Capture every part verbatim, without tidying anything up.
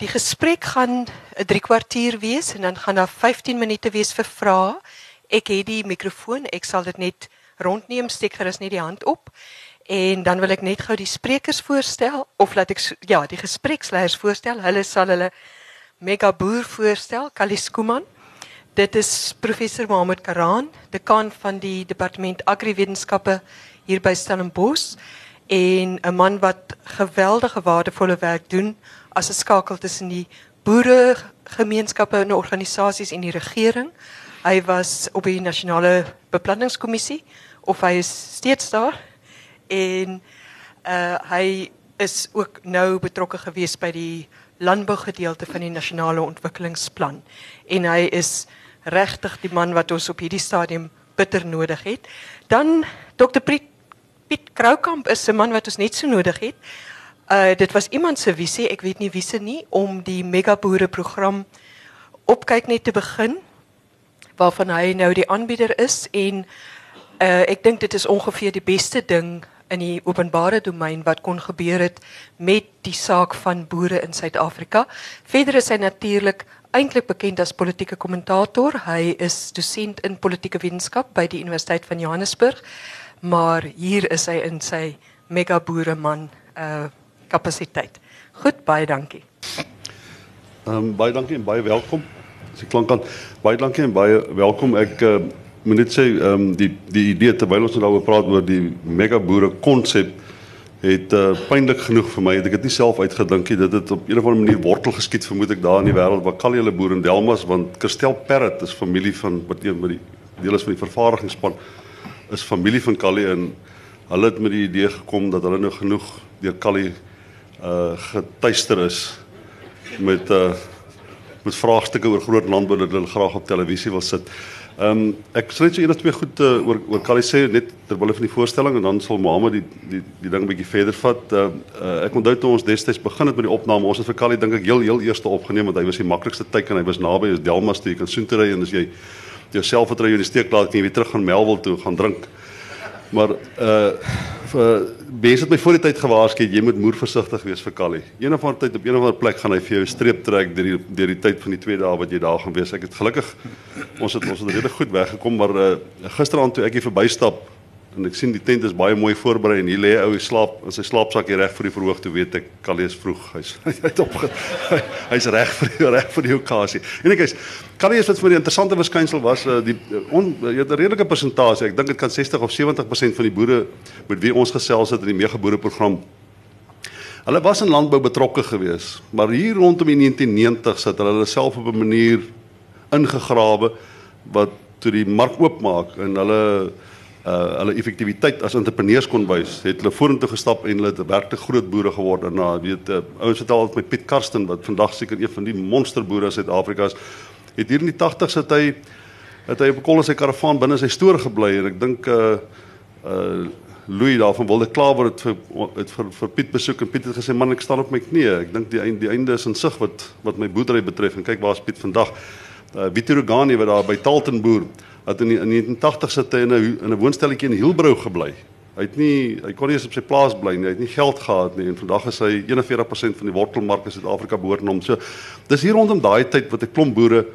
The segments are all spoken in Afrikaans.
die gesprek gaan 'n drie kwartier wees en dan gaan daar vyftien minute wees vir vrae. Ek het die mikrofoon, ek sal dit net rondneem, steek gerus net die hand op. En dan wil ek net gou die sprekers voorstel of laat ek ja, die gespreksleiers voorstel. Hulle sal hulle mega boer voorstel, Callie Schoeman. Dit is professor Mohammed Karaan, dekaan van die departement agriwetenskappe hier by Stellenbosch en 'n man wat geweldige waardevolle werk doen as 'n skakel tussen die boeregemeenskappe en organisasies en die regering. Hy was op die nasionale beplanningskommissie of hy is steeds daar en uh, hy is ook nou betrokke gewees by die landbougedeelte van die nasionale ontwikkelingsplan en hy is regtig die man wat ons op hierdie stadium bitter nodig het. Dan dokter Piet, Piet Kroukamp is 'n man wat ons net so nodig het. Uh, dit was iemand se visie, ek weet nie wie se nie, om die megaboere program opkyk net te begin, waarvan hy nou die aanbieder is en uh, ek dink dit is ongeveer die beste ding in die openbare domein wat kon gebeur het met die saak van boere in Suid-Afrika. Verder is hy natuurlik eintlik bekend as politieke kommentator. Hy is dosent in politieke wetenskap by die Universiteit van Johannesburg, maar hier is hy in sy mega boereman uh, kapasiteit. Goed, baie dankie. Um, baie dankie en baie welkom. As ek klank kan, baie dankie en baie welkom. Ek uh, moet net sê, um, die, die idee, terwyl ons nou daaroor praat oor die mega boere konsep, het uh, pynlik genoeg vir my, het ek het nie self uitgedink nie, dit het op een of ander manier wortel geskiet, vermoed ek daar in die wêreld, waar Callie hulle boer in Delmas, want Kirstel Parrot is familie van, wat een met die deel is van die vervaardigingsspan, is familie van Callie, en hulle het met die idee gekom, dat hulle nou genoeg deur Callie uh, getuister is, met, uh, met vraagstukke oor groot landbou, dat hulle graag op televisie wil sit. Um, ek sal net so een of twee goed uh, oor, oor Callie sê, net terwille van die voorstelling, en dan sal Mohammed die, die, die ding 'n bietjie verder vat. Uh, uh, ek onthou toe ons destyds begin het met die opname, ons het vir Callie dink ek heel, heel eerste opgeneem, want hy was die maklikste teiken, hy was naby, is Delmas toe, jy kan soontoe ry, en as jy jou selfvertroue in die steek laat, kan jy weer terug gaan Melville toe, gaan drink. Maar uh, vir, mense het my voor die tyd gewaarsku, jy moet moer versigtig wees vir Callie. Een of ander tyd op een of ander plek gaan hy vir jou streep trek deur die, deur die tyd van die twee dae wat jy daar gaan wees. Ek het gelukkig, ons het ons het redelijk goed weggekom, maar uh, gisteraand toe ek hier verbystap, en ek sien die tent is baie mooi voorberei, en hier lê hy ou slaap, in sy slaapsak hier reg vir die verhoog, toe weet ek, Callie is vroeg, hy's hy's opge, hy, hy's reg vir die, reg vir die okasie. En ek is, Callie is wat vir die interessante verskynsel was, uh, die, on, jy het 'n redelike persentasie, ek dink dit kan sestig of sewentig persent van die boere, met wie ons gesels het in die megaboereprogram, hulle was in landbou betrokke gewees, maar hier rondom die negentien negentig het hulle self op 'n manier ingegrawe, wat toe die mark oopmaak, en hulle Uh, hulle effektiwiteit as entrepreneurs kon wys, het hulle vorentoe gestap en hulle het werklik groot boere geword. En uh, weet, uh, ouens vertel altyd met Piet Karsten, wat vandag seker een van die monsterboere in Suid-Afrika is, het hier in die tagtigs het hy, het hy op 'n kol in sy karavaan binne sy stoor gebly, en ek dink, uh, uh, Louis daar van Wilde Klawer het vir, het vir, vir Piet besoek, en Piet het gesê, man, ek staan op my knieë, ek dink die, einde, die einde is in sig wat, wat my boerdery betref, en kyk waar is Piet vandag. Uh, Vito Rogani, wat daar by Talton boer, het in die negentien tagtig het hy in 'n in 'n woonstelletjie in Hielbrau gebly. Hy het nie hy kon nie eens op sy plaas bly nie, hy het nie geld gehad nie, en vandag is hy eenenveertig persent van die wortelmark in Suid-Afrika behoort aan hom. So dis hier rondom daai tyd wat 'n klomp boere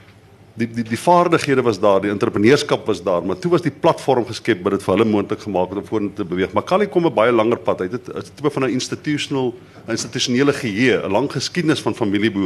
die die die vaardighede was daar, die entrepreneurskap was daar, maar toe was die platform geskep wat dit vir hulle moontlik gemaak het om vorentoe te beweeg. Maar Callie kom 'n baie langer pad. Hy het 'n tipe van 'n institutional 'n institusionele geheue, 'n lang geskiedenis van familieboer.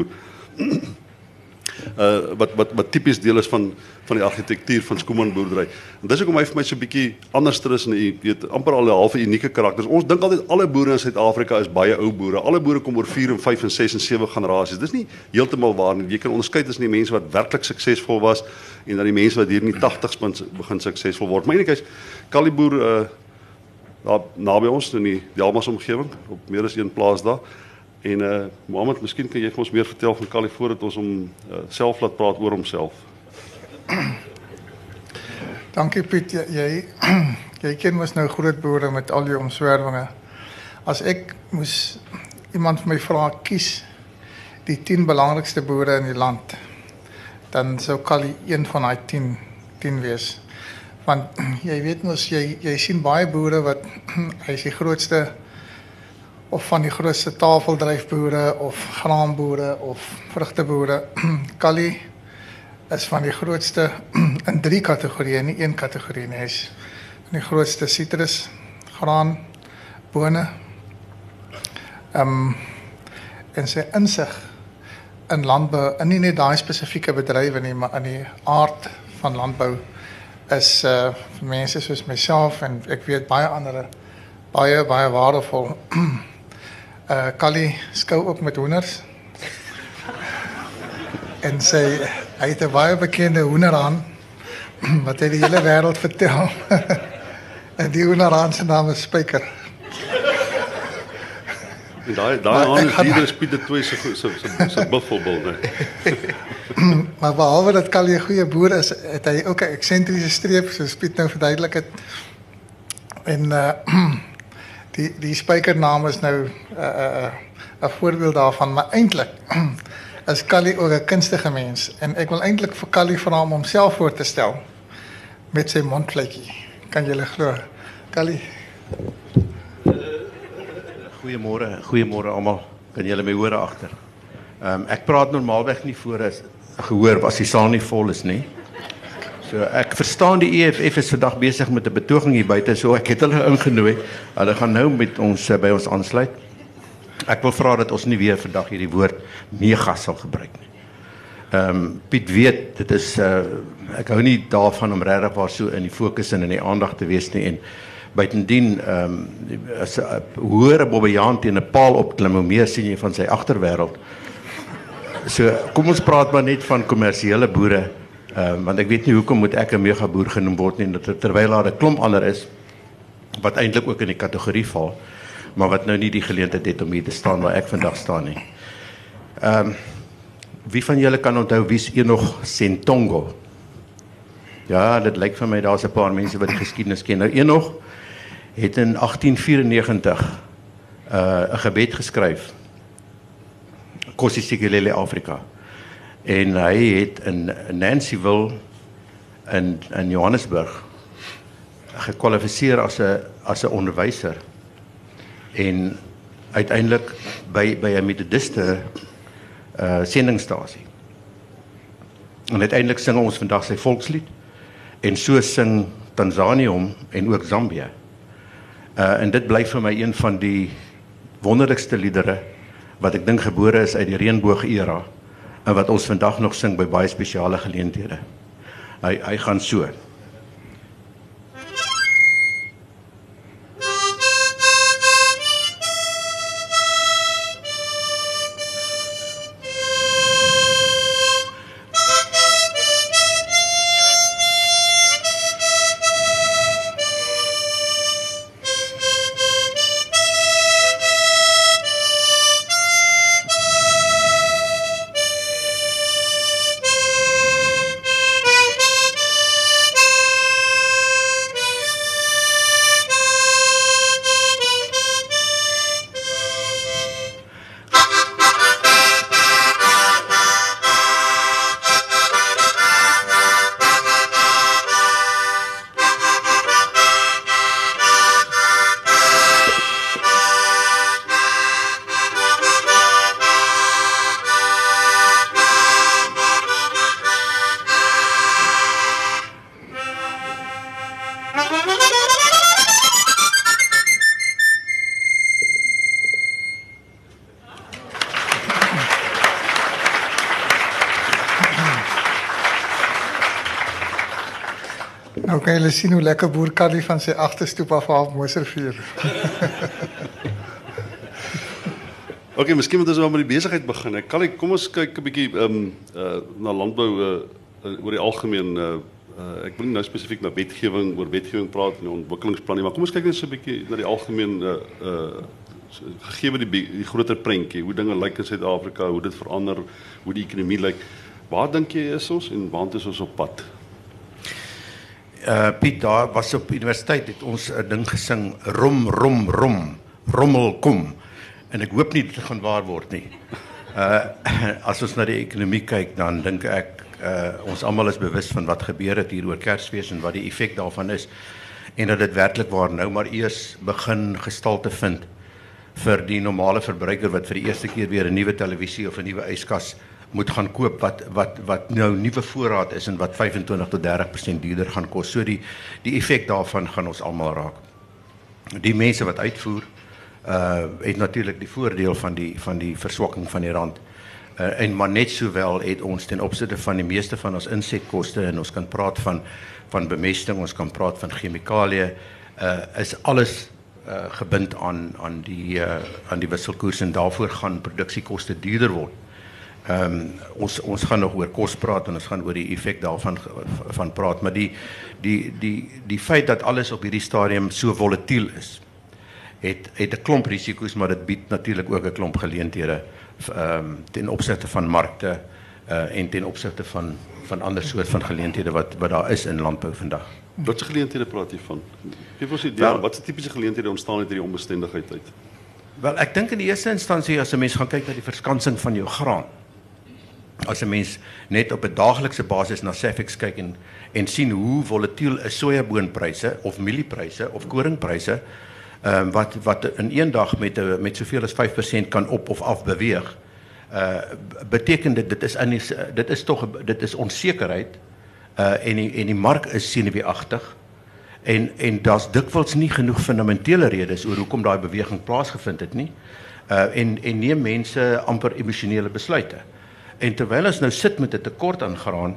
Uh, wat wat wat tipies deel is van van die argitektuur van Schoeman boerdery. En dis hoekom hy vir my so 'n bietjie anders is, en jy weet amper al 'n halfe unieke karakter. Ons dink altyd alle boere in Suid-Afrika is baie ou boere. Alle boere kom oor vier en vyf en ses en sewe generasies. Dis nie heeltemal waar nie. Jy kan onderskei tussen die mense wat werklik suksesvol was en dan die mense wat hier in die tagtigs begin suksesvol word. Maar enigheid, Callie boer uh, daar naby ons in die Delmas omgewing, op meer as een plaas daar. En uh, Mohammed, miskien kan jy vir ons meer vertel van Callie voordat ons hom uh, self laat praat oor homself. Dankie Piet, jy, jy, jy ken mos nou groot boere met al die omswervinge. As ek moes iemand vir my vra, kies die tien belangrikste boere in die land, dan sou Callie een van daai tien, tien wees. Want jy weet mos, jy, jy sien baie boere wat, hy is die grootste of van die grootste tafeldryfboere of graanboere of vrugteboere. Kali is van die grootste in drie kategorieë, nie een kategorie nie. Hy is van die grootste sitrus, graan, bone. Um, en sy insig in landbou, en nie net daai spesifieke bedrywe nie, maar in die aard van landbou is uh, vir mense soos myself en ek weet baie ander baie baie waardevol. uh, Kali skou ook met hoenders. En sy hy het 'n baie bekende hoenderhaan wat hy die hele wêreld vertel. En die hoenderhaan se naam is Spyker. Daai daai aan is die Piet de Tooi se se se buffelbil, nee. Maar behalwe dat Kali 'n goeie boer is, het hy ook 'n eksentriese streep, soos Piet nou verduidelik het. En uh, die die spykernaam is nou 'n uh, uh, 'n voorbeeld daarvan, maar eintlik is Kali ook 'n kunstige mens en ek wil eintlik vir Kali vra om homself voor te stel met sy mondvletjie. Kan julle glo? Kali. Goeiemôre, goeiemôre almal. Kan julle my hoor agter? Ehm um, ek praat normaalweg nie voor as gehoor as die saal nie vol is nie. So ek verstaan die E F F is vandag besig met 'n betoging hier buite, so ek het hulle ingenooi. Hulle gaan nou met ons uh, by ons aansluit. Ek wil vra dat ons nie weer vandag hierdie woord mega sal gebruik nie. Ehm um, Piet weet, dit is uh, ek hou nie daarvan om regtig waar so in die fokus en in die aandag te wees nie en buitendien ehm um, as 'n hoër bobbejaan teen 'n paal opklim, hoe meer sien jy van sy agterwêreld. So kom ons praat maar net van kommersiële boere, um, want ek weet nie hoekom moet ek 'n megaboer genoem word nie, terwyl daar 'n klomp ander is wat eintlik ook in die kategorie val, maar wat nou nie die geleentheid het om hier te staan waar ek vandag staan nie. Ehm um, wie van julle kan onthou wie's Enoch Sentongo? Ja, dit lyk vir my daar's 'n paar mense wat die geskiedenis ken. Nou Enoch het in agtien vyrenegentig uh, 'n gebed geskryf, Nkosi Sikelel' Afrika, en hy het in Nancyville in, in Johannesburg gekwalifiseer as 'n as 'n onderwyser en uiteindelik by by 'n metodiste uh, sendingstasie. En uiteindelik sing ons vandag sy volkslied en so sing Tanzanië hom en ook Zambië. Uh, en dit bly vir my een van die wonderlikste liedere wat ek dink gebore is uit die reënboog-era en wat ons vandag nog sing by baie spesiale geleenthede. Hy hy gaan so. Nou kan julle sien hoe lekker boer Kali van sy agterstoep af half Moservuur. Oké, miskien moet ons wel met die besigheid begin. Kali, kom ons kyk 'n bietjie um, uh, na landbou uh, uh, oor die algemeen. Uh, uh, ek wil nie nou spesifiek na wetgewing oor wetgewing praat en ontwikkelingsplan nie, maar kom ons kyk net so 'n bietjie na die algemeen uh, uh, gegee die, die groter prentjie, hoe dinge lyk in Suid-Afrika, hoe dit verander, hoe die ekonomie lyk. Waar dink jy is ons en waar is ons op pad? Uh, Piet, daar was op universiteit, het ons 'n ding gesing, rom, rom, rom, rommel, kom. En ek hoop nie dit gaan waar word nie. Uh, as ons na die ekonomie kyk, dan dink ek, uh, ons almal is bewus van wat gebeur het hier oor Kersfees en wat die effek daarvan is. En dat dit werklik waar nou maar eers begin gestalte vind vir die normale verbruiker wat vir die eerste keer weer 'n nuwe televisie of 'n nuwe yskas moet gaan koop wat wat wat nou nuwe voorraad is en wat vyfentwintig tot dertig persent duurder gaan kos. So die die effek daarvan gaan ons almal raak. Die mense wat uitvoer uh het natuurlik die voordeel van die van die verswakking van die rand. Uh, en maar net sowel het ons ten opsigte van die meeste van ons insetkoste en ons kan praat van van bemesting, ons kan praat van chemikalieë, uh is alles uh gebind aan aan die uh aan die wisselkoers en daarvoor gaan produksiekoste duurder word. Ehm um, ons ons gaan nog oor kos praat en ons gaan oor die effek daarvan van praat, maar die die die die feit dat alles op hierdie stadium so volatiel is, het het 'n klomp risiko's, maar dit bied natuurlik ook 'n klomp geleenthede ehm um, ten opsigte van markte uh en ten opsigte van van ander soort van geleenthede wat wat daar is in landbou vandag. Watse geleenthede praat jy van? Geef ons 'n idee, Wel, watse tipiese geleenthede ontstaan uit hierdie onbestendigheid uit? Wel, ek dink in die eerste instansie as 'n mens gaan kyk na die verskansing van jou graan. As 'n mens net op 'n daaglikse basis na Safex kyk en en sien hoe volatiel is sojaboonpryse of mieliepryse of koringpryse, ehm um, wat wat in een dag met 'n met soveel as vyf persent kan op of af beweeg. Uh beteken dit dit is in die, dit is tog dit is onsekerheid uh en die en die mark is senuweeagtig en en daar's dikwels nie genoeg fundamentele redes oor hoekom daai beweging plaasgevind het nie. Uh en en neem mense amper emosionele besluite. En terwyl ons nou sit met 'n tekort aan graan,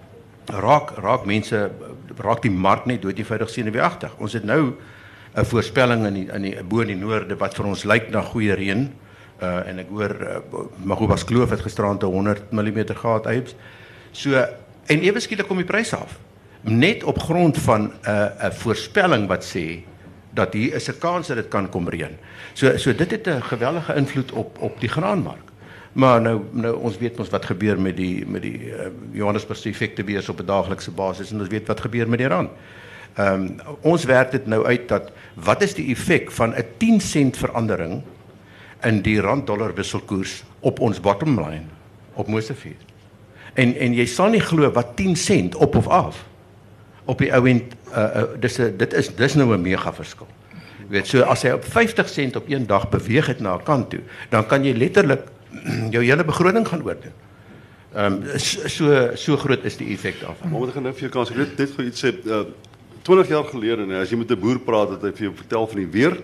raak raak mense raak die mark net dood-eenvoudig senuweeagtig. Ons het nou 'n voorspelling in die in die bo in die noorde wat vir ons lyk na goeie reën. Uh, en ek hoor uh, Magobas Kloof het gisterand honderd millimeter gehad Aibs. So en ewe skielik kom die pryse af. Net op grond van 'n uh, 'n voorspelling wat sê dat hier is 'n kans dat dit kan kom reën. So so dit het 'n geweldige invloed op op die graanmark. Maar nou nou ons weet ons wat gebeur met die met die uh, Johannesburgse effektebeurs op 'n daaglikse basis en ons weet wat gebeur met die rand. Ehm um, ons werk dit nou uit dat wat is die effek van 'n tien sent verandering in die rand-dollar wisselkoers op ons bottom line op Mosefees. En en jy sal nie glo wat tien sent op of af op die ou end uh, uh, dis 'n dit is dis nou 'n mega verskil. Jy weet, so as hy op vyftig sent op een dag beweeg het na 'n kant toe, dan kan jy letterlik jou hele begroting gaan oordoen. Ehm um, so so groot is die effek daarvan. Maar ek gaan nou vir jou kans, ek weet net gou iets sê, uh, twintig jaar gelede, nee, as jy met 'n boer praat, het hy vir jou vertel van die weer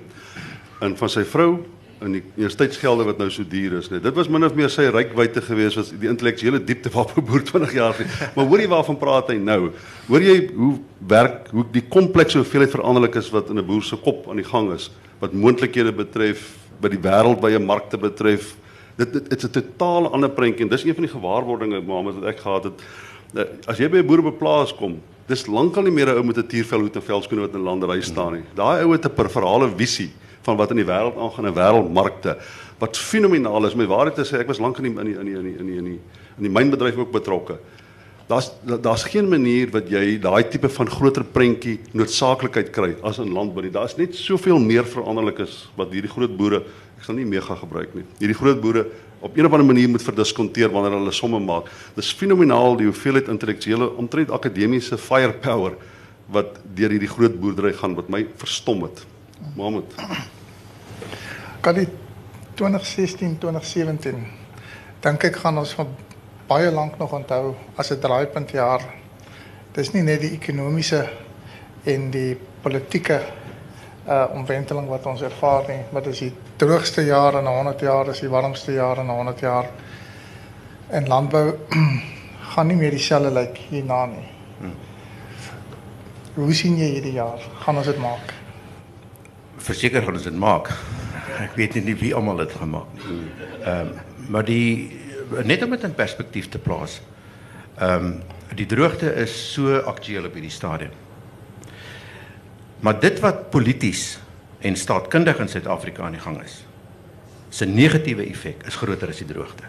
en van sy vrou en die universiteitsgelde wat nou so duur is, nee. Dit was min of meer sy rykwyte geweest, was die intellektuele diepte waarop 'n boer twintig jaar gelede. Maar hoor jy waarvan praat hy nou? Hoor jy hoe werk, hoe die komplekse hoeveelheid veranderlik is wat in 'n boer se kop aan die gang is, wat moontlikhede betref, by die wêreldwye markte betref. Dit dit is 'n totaal ander prentjie en dis een van die gewaarwordinge, Mohammed, wat ek gehad het. As jy by 'n boer op 'n plaas kom, dis lankal nie meer 'n ou met 'n tiervelhoed en velskoene wat in landery staan nie. Daai ou het 'n verhale visie van wat in die wêreld aangaan in wêreldmarkte wat fenomenaal is. My waarheid te sê, ek was lank in die in die in die in die in die in die, in die mynbedryf ook betrokke. Daar's daar's geen manier wat jy daai tipe van groter prentjie noodsaaklikheid kry as in landbou nie. Daar's net soveel meer veranderlik is wat hierdie groot boere, ek sal nie mega gebruik nie. Hierdie groot boere op een of ander manier moet verdiskonteer wanneer hulle somme maak. Dis fenomenaal die hoeveelheid intellektuele, omtrent akademiese firepower wat deur hierdie groot boerdery gaan wat my verstom het. Mohammed. Kan die twintig sestien twintig sewentien dink ek gaan ons van baie lank nog onthou as 'n draaipuntjaar. Dis nie net die ekonomiese en die politieke uh, omwenteling wat ons ervaar nie, maar dis die droogste jaar in honderd jaar, dis die warmste jaar in honderd jaar. En landbou gaan nie meer dieselfde lyk hierna nie. Hmm. Hoe sien jy hierdie jaar? Gaan ons dit maak? Verseker gaan ons dit maak. Ek weet nie wie almal dit gaan maak nie. Ehm um, maar die net om dit in perspektief te plaas. Ehm um, die droogte is so aktueel op hierdie stadium. Maar dit wat polities en staatkundig in Suid-Afrika aan die gang is, se negatiewe effek is groter as die droogte.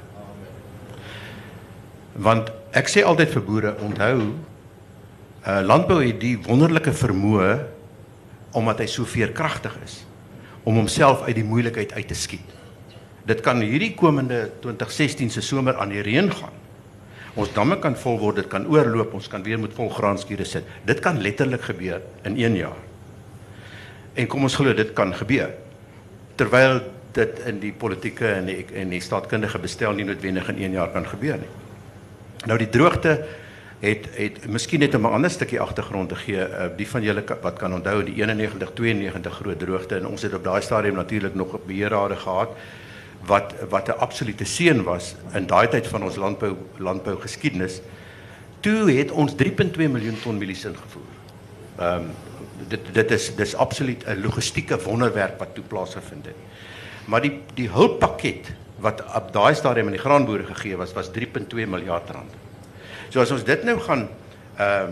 Want ek sê altyd vir boere, onthou, uh, landbou het die wonderlike vermoë omdat hy so veerkragtig is om homself uit die moeilikheid uit te skiet. Dit kan hierdie komende twintig sestien se somer aan die reën gaan. Ons damme kan vol word, dit kan oorloop, ons kan weer met vol graanskure sit. Dit kan letterlik gebeur in een jaar. En kom ons glo dit kan gebeur. Terwyl dit in die politieke en die, en die staatkundige bestel nie noodwendig in een jaar kan gebeur nie. Nou die droogte het het miskien net om 'n ander stukkie agtergrond te gee, uh, die van julle wat kan onthou die eenennegentig tweeënnegentig groot droogte, en ons het op daai stadium natuurlik nog 'n beheerrade gehad wat wat 'n absolute seën was in daai tyd van ons landbou landbou geskiedenis. Toe het ons drie komma twee miljoen ton mielies ingevoer. Ehm um, dit dit is dis absoluut 'n logistieke wonderwerk wat toe plaasgevind het. Maar die die hulppakket wat op daai stadium aan die graanboere gegee was was drie komma twee miljard rand. So as ons dit nou gaan ehm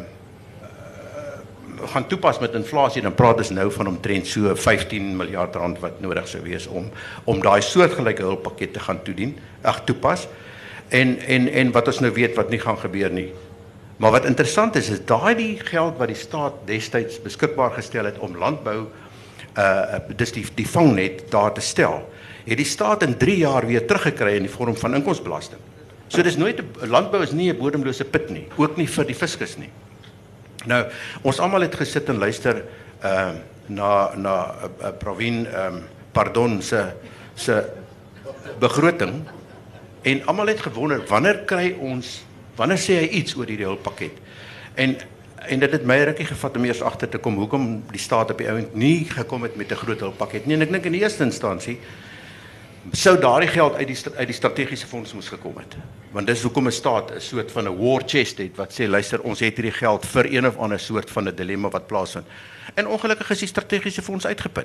uh, gaan toepas met inflasie, dan praat ons nou van omtrent so vyftien miljard rand wat nodig sou wees om om daai soortgelyke hulppakket te gaan toedien, ag toepas. En en en wat ons nou weet wat nie gaan gebeur nie. Maar wat interessant is is daai die geld wat die staat destyds beskikbaar gestel het om landbou uh dis die die vangnet daar te stel, het die staat in drie jaar weer teruggekry in die vorm van inkomstebelasting. So dis nooit, landbou is nie 'n bodemlose put nie, ook nie vir die fiskus nie. Nou, ons almal het gesit en luister uh na na uh, Pravin um, Pardon se se begroting en almal het gewonder wanneer kry ons wanneer sê hy iets oor hierdie hulppakket. En en dit het my rukkie gevat om eers agter te kom hoekom die staat op die ouend nie gekom het met 'n groot hulppakket nie. En ek dink in die eerste instansie sou daardie geld uit die uit die strategiese fonds moes gekom het. Want dis hoekom 'n staat 'n soort van 'n war chest het wat sê luister, ons het hierdie geld vir een of ander soort van 'n dilemma wat plaasvind. En ongelukkig is die strategiese fonds uitgeput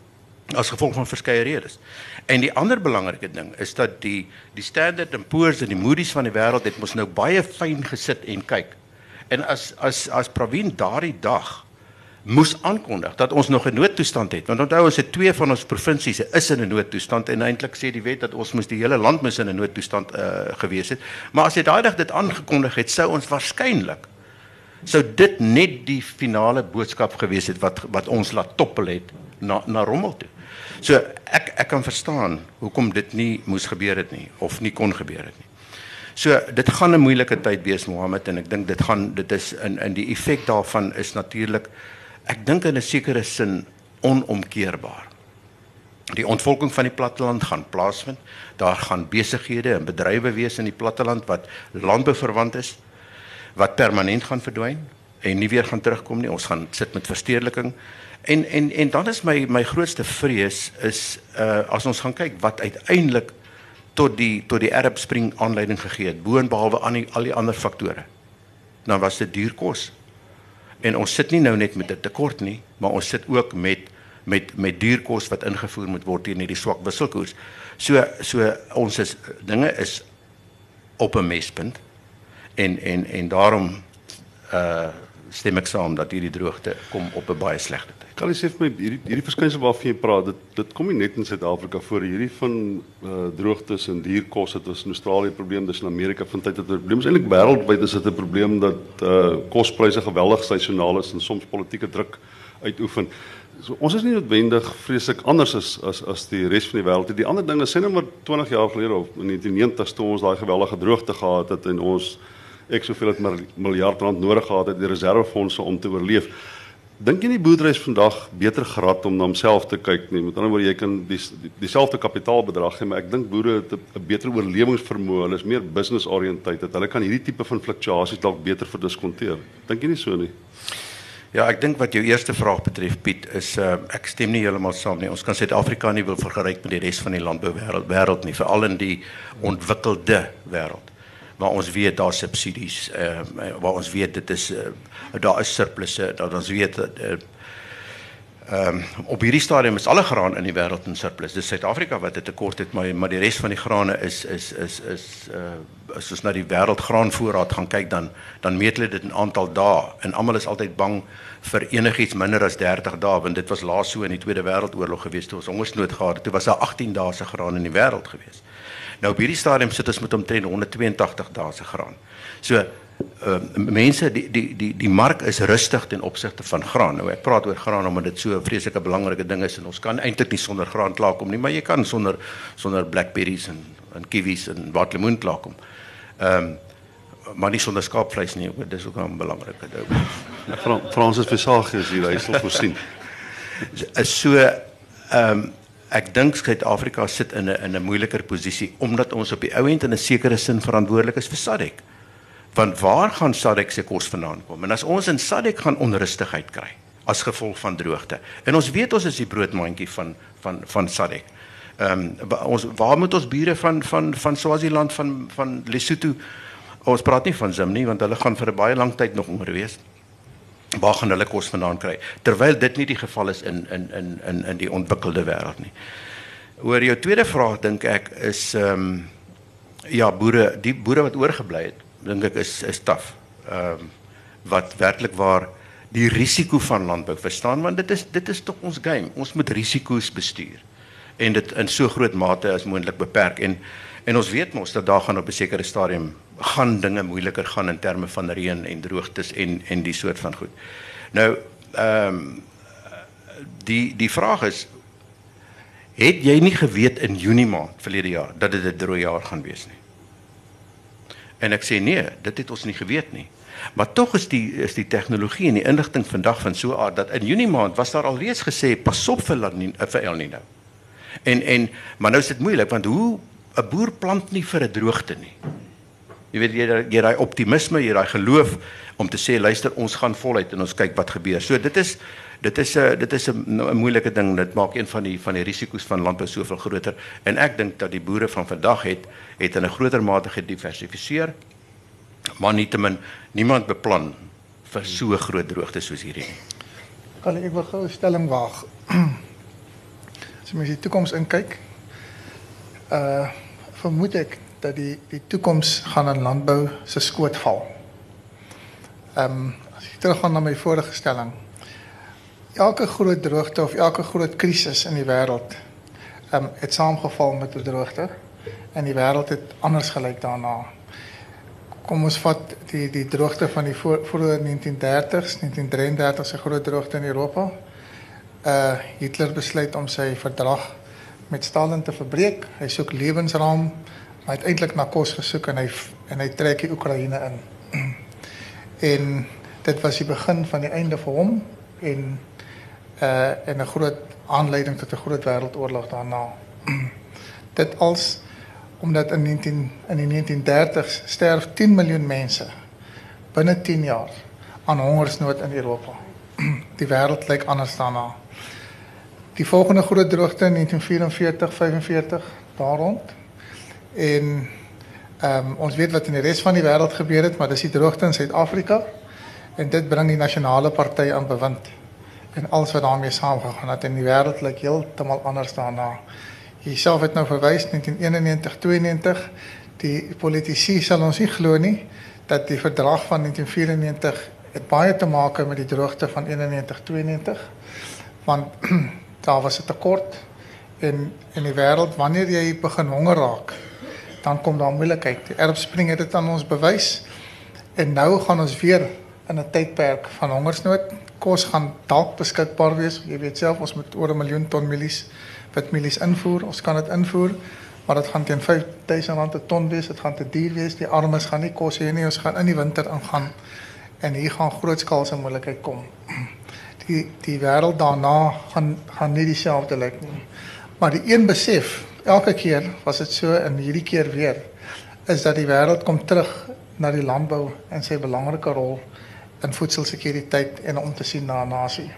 as gevolg van verskeie redes. En die ander belangrike ding is dat die die Standard and Poor's en die Moody's van die wêreld het mos nou baie fyn gesit en kyk. En as as as Pravin daardie dag moes aankondig dat ons nog 'n noodtoestand het. Want onthou ons het twee van ons provinsies is in 'n noodtoestand en eintlik sê die wet dat ons moes die hele land moes in 'n noodtoestand uh, gewees het. Maar as hy daai dag dit aangekondig het, sou ons waarskynlik sou dit net die finale boodskap gewees het wat wat ons laat toppel het na na rommel toe. So ek ek kan verstaan hoekom dit nie moes gebeur het nie of nie kon gebeur het nie. So dit gaan 'n moeilike tyd wees, Mohammed, en ek dink dit gaan dit is in in die effek daarvan is natuurlik ek dink in 'n sekere sin onomkeerbaar. Die ontvolking van die platteland gaan plaasvind. Daar gaan besighede en bedrywe wees in die platteland wat landbou verwant is, wat permanent gaan verdwyn en nie weer gaan terugkom nie. Ons gaan sit met verstedeliking. En en en dan is my my grootste vrees is uh as ons gaan kyk wat uiteindelik tot die tot die Arab Spring aanleiding gegee het, boonbehalwe aan die, al die ander faktore. Dan was dit duur kos. En ons sit nie nou net met 'n tekort nie, maar ons sit ook met met met duur kos wat ingevoer moet word teen hierdie swak wisselkoers. So so ons is dinge is op 'n mespunt en en en daarom uh stem ek saam dat hierdie droogte kom op 'n baie slegte tyd. Kan jy sê vir my hierdie hierdie verskynsel waarvan jy praat, dit dit kom nie net in Suid-Afrika voor, hierdie van uh, droogtes en dierkos, dit was in Australië 'n probleem, dis in Amerika vind dit 'n probleem. Is eintlik wêreldwyd is dit 'n probleem dat uh, kospryse geweldig seisonaal is en soms politieke druk uitoefen. So, ons is nie noodwendig vreeslik anders as as as die res van die wêreld. Die ander ding is sê nou maar twintig jaar gelede of in die negentiges toe ons daai geweldige droogte gehad het en ons ek soveel het miljard rand nodig gehad het die reservefondse om te oorleef. Dink jy nie boerdery is vandag beter gerad om na homself te kyk nie? Met ander woorde, jy kan die dieselfde kapitaalbedrag hê, maar ek dink boere het 'n beter oorlewingsvermoë, hulle is meer business oriented, hulle kan hierdie tipe van fluktuasies dalk beter verdiskonteer. Dink jy nie so nie? Ja, ek dink wat jou eerste vraag betref, Piet, is uh, ek stem nie heeltemal saam nie. Ons kan Suid-Afrika nie wil vergelyk met die res van die landbouwêreld wêreld nie, veral in die ontwikkelde wêreld. Waar ons weet daar subsidies, uh, waar ons weet dit is uh, daar is surplusse, dat ons weet uh, um, op hierdie stadium is alle graan in die wêreld in surplus. Dis Suid-Afrika wat 'n tekort het, maar maar die res van die grane is is is is uh, as ons na die wêreldgraanvoorraad gaan kyk, dan dan meet hulle dit in aantal dae en almal is altyd bang vir enigiets minder as dertig dae, want dit was laas so in die Tweede Wêreldoorlog gewees toe ons hongersnood gehad het. Toe was daar agttien dae se graan in die wêreld gewees. Nou op hierdie stadium sit ons met omtrent honderdtweeëntagtig dae se graan. So uh, mense die die die die mark is rustig ten opsigte van graan. Nou ek praat oor graan omdat dit so 'n vreeslike belangrike ding is en ons kan eintlik nie sonder graan klaarkom nie, maar jy kan sonder sonder blackberries en en kiwis en waterlemoen klaarkom. Ehm um, maar nie sonder skaapvleis nie, dis ook 'n belangrike ding. Fra Fransis Versace is hier, hy sal voorsien. So ehm um, ek dink Suid-Afrika sit in 'n in 'n moeiliker posisie omdat ons op die ou end in 'n sekere sin verantwoordelik is vir SADC. Want waar gaan SADC se kos vandaan kom? En as ons in SADC gaan onrustigheid kry as gevolg van droogte. En ons weet ons is die broodmandjie van van van SADC. Ehm um, ons waar moet ons bure van van van Swaziland van van Lesotho, ons praat nie van Zim nie want hulle gaan vir 'n baie lang tyd nog honger wees. Waar gaan hulle kos vandaan kry? Terwyl dit nie die geval is in in in in in die ontwikkelde wêreld nie. Oor jou tweede vraag dink ek is ehm um, ja, boere, die boere wat oorgebly het, dink ek is is taaf. Ehm um, wat werklik waar die risiko van landbou verstaan, want dit is dit is tog ons game. Ons moet risiko's bestuur en dit in so groot mate as moontlik beperk en en ons weet mos dat daar gaan op 'n sekere stadium gaan dinge moeiliker gaan in terme van reën en droogtes en en die soort van goed. Nou ehm um, die die vraag is, het jy nie geweet in Junie maand verlede jaar dat dit 'n droë jaar gaan wees nie? En ek sê nee, dit het ons nie geweet nie. Maar tog is die is die tegnologie en die inligting vandag van so 'n aard dat in Junie maand was daar alreeds gesê pas op vir La Nina, vir El Nino. En en maar nou is dit moeilik want hoe 'n boer plant nie vir 'n droogte nie. Jy weet jy jy daai optimisme, jy daai geloof om te sê luister ons gaan voluit en ons kyk wat gebeur. So dit is dit is 'n dit is 'n moeilike ding. Dit maak een van die van die risiko's van landbou soveel groter en ek dink dat die boere van vandag het het in 'n groter mate gediversifiseer. Maar nietemin niemand beplan vir so 'n groot droogte soos hierdie nie. Kan ek wil gou 'n stelling waag? As jy mens die toekoms inkyk, uh vermoed ek dat die die toekoms gaan in landbou se skoot val. Ehm um, as ek teruggaan na my vorige stelling, elke groot droogte of elke groot krisis in die wêreld ehm um, het saamgeval met 'n droogte en die wêreld het anders gelyk daarna. Kom ons vat die die droogte van die voor, vroeë negentien dertigs, negentien drieëndertig se groot droogte in Europa. Uh Hitler besluit om sy verdrag met Stalin te verbreek. Hy soek lewensraam, maar hy het eintlik na kos gesoek en hy en hy trek die Oekraïne in. En dit was die begin van die einde vir hom en uh en 'n groot aanleiding tot 'n groot wêreldoorlog daarna. Dit als omdat in negentien in die negentien dertigs sterf tien miljoen mense binne tien jaar aan hongersnood in Europa. Die wêreld lyk anders daarna. Die volgende groot droogte in negentien vyfenveertig vyfenveertig daar rond. En um, ons weet wat in die res van die wêreld gebeur het, maar dis die droogte in Suid-Afrika en dit bring die nasionale party aan bewind en alles wat daarmee saamgegaan het en die wêreld lyk heeltemal anders daarna. Jy self het nou verwys negentien eenennegentig tweeënnegentig, die politici sal ons nie glo nie dat die verdrag van negentien vyfennegentig het baie te maak met die droogte van eenennegentig tweeënnegentig, want daar was 'n tekort en in die wêreld wanneer jy begin honger raak, dan kom daar moeilikheid. Die erfspring het dit aan ons bewys en nou gaan ons weer in 'n tydperk van hongersnood. Kos gaan dalk beskikbaar wees. Jy weet self ons moet oor 'n miljoen ton mielies witmielies invoer. Ons kan dit invoer, maar dit gaan teen vyf duisend rand 'n ton wees. Dit gaan te duur wees. Die armes gaan nie kos hê nie. Ons gaan in die winter ingaan en hier gaan grootskaalse moeilikheid kom. Die die wêreld daarna gaan gaan nie dieselfde lyk nie. Maar die een besef, elke keer was dit so en hierdie keer weer, is dat die wêreld kom terug na die landbou en sy belangrike rol in voedselsekuriteit en om te sien na 'n nasie.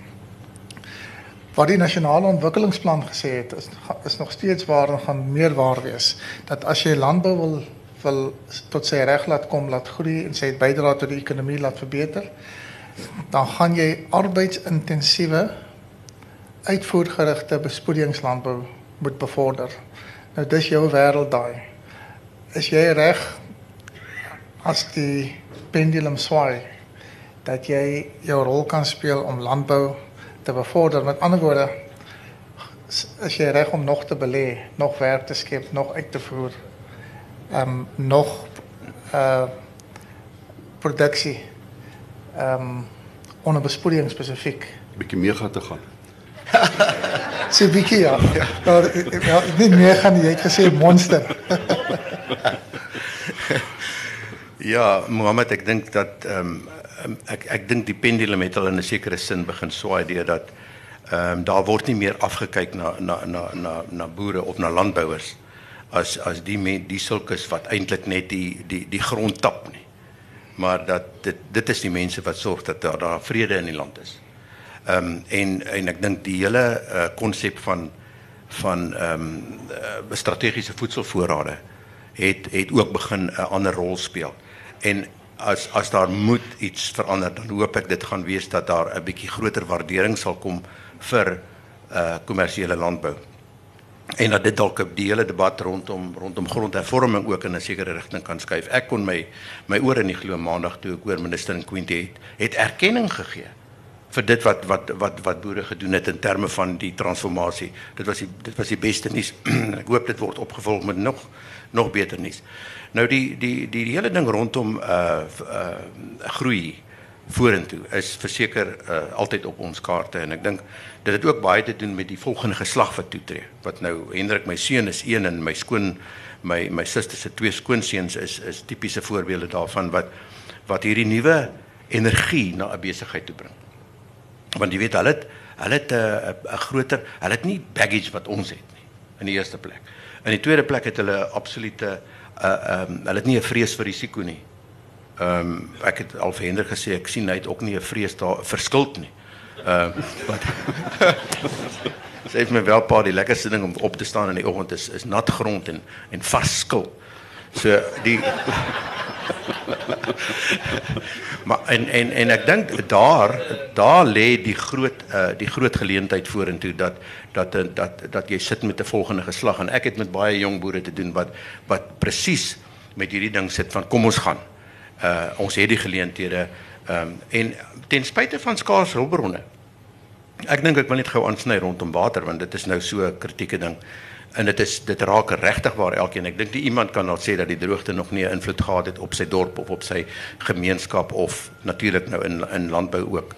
Wat die nasionale ontwikkelingsplan gesê het, is, is nog steeds waar en gaan meer waar wees. Dat as jy landbou wil, wil tot sy reg laat kom, laat groei en sy bydra tot die ekonomie laat verbeter, dan gaan jy arbeidsintensiewe, uitvoergerigte bespoedingslandbou moet bevorder. Nou dis jou wêreld daai. Is jy reg as die pendulum swaai, dat jy jou rol kan speel om landbou te bevorder? Met ander woorde, is jy reg om nog te belê, nog werk te skep, nog uit te voer, um, nog uh, produksie, um, onder bespoeding spesifiek. Bietjie meer gaan te gaan. Sê bietjie ja. Ja, ja, nie meer gaan nie, jy het gesê monster. Ja, Mohammed, ek dink dat um, ek ek dink die pendulum het al in 'n sekere sin begin swaai deur dat Ehm um, daar word nie meer afgekyk na na na na na boere of na landbouers as as die men, die sulkes wat eintlik net die die die grond tap nie. Maar dat dit dit is die mense wat sorg dat daar, daar vrede in die land is. Ehm um, en en ek dink die hele konsep uh, van van ehm um, uh, strategiese voedselvoorrade het het ook begin 'n ander rol speel. En as as daar moet iets verander, dan hoop ek dit gaan wees dat daar 'n bietjie groter waardering sal kom vir uh kommersiële landbou. En dat dit dalk die hele debat rondom rondom grondhervorming ook in 'n sekere rigting kan skuif. Ek kon my my ore nie glo maandag toe ek hoor minister Nkwinti het het erkenning gegee vir dit wat wat wat wat boere gedoen het in terme van die transformasie. Dit was die dit was die beste nuus. Ek hoop dit word opgevolg met nog nog beter nuus. Nou die die die die hele ding rondom uh uh groei vorentoe is verseker uh, altyd op ons kaarte en ek dink dit het ook baie te doen met die volgende geslag wat toetree. Wat nou Hendrik my seun is een en my skoon my my suster se twee skoonseuns is is tipiese voorbeelde daarvan wat wat hierdie nuwe energie na 'n besigheid toe bring. Want jy weet hulle het hulle het 'n uh, 'n groter hulle het nie baggage wat ons het nie in die eerste plek. In die tweede plek het hulle absolute uh um, hulle het nie 'n vrees vir risiko nie. Ehm um, ek het al vir Hendrik gesê ek sien hy het ook nie 'n vrees daar verskuld nie. Ehm uh, wat sê het my wel paar die lekkerste ding om op te staan in die oggend is is nat grond en en vars skil. So die maar en en en ek dink daar daar lê die groot uh, die groot geleentheid vorentoe dat dat dat dat jy sit met 'n volgende geslag en ek het met baie jong boere te doen wat wat presies met hierdie ding sit van kom ons gaan. Uh, ons het die geleenthede um, en ten spyte van skaars hulpbronne. Ek dink ek wil net gou aansny rondom water want dit is nou so 'n kritieke ding en dit is dit raak regtig waar elkeen. Ek dink nie iemand kan nou sê dat die droogte nog nie 'n invloed gehad het op sy dorp of op sy gemeenskap of natuurlik nou in in landbou ook.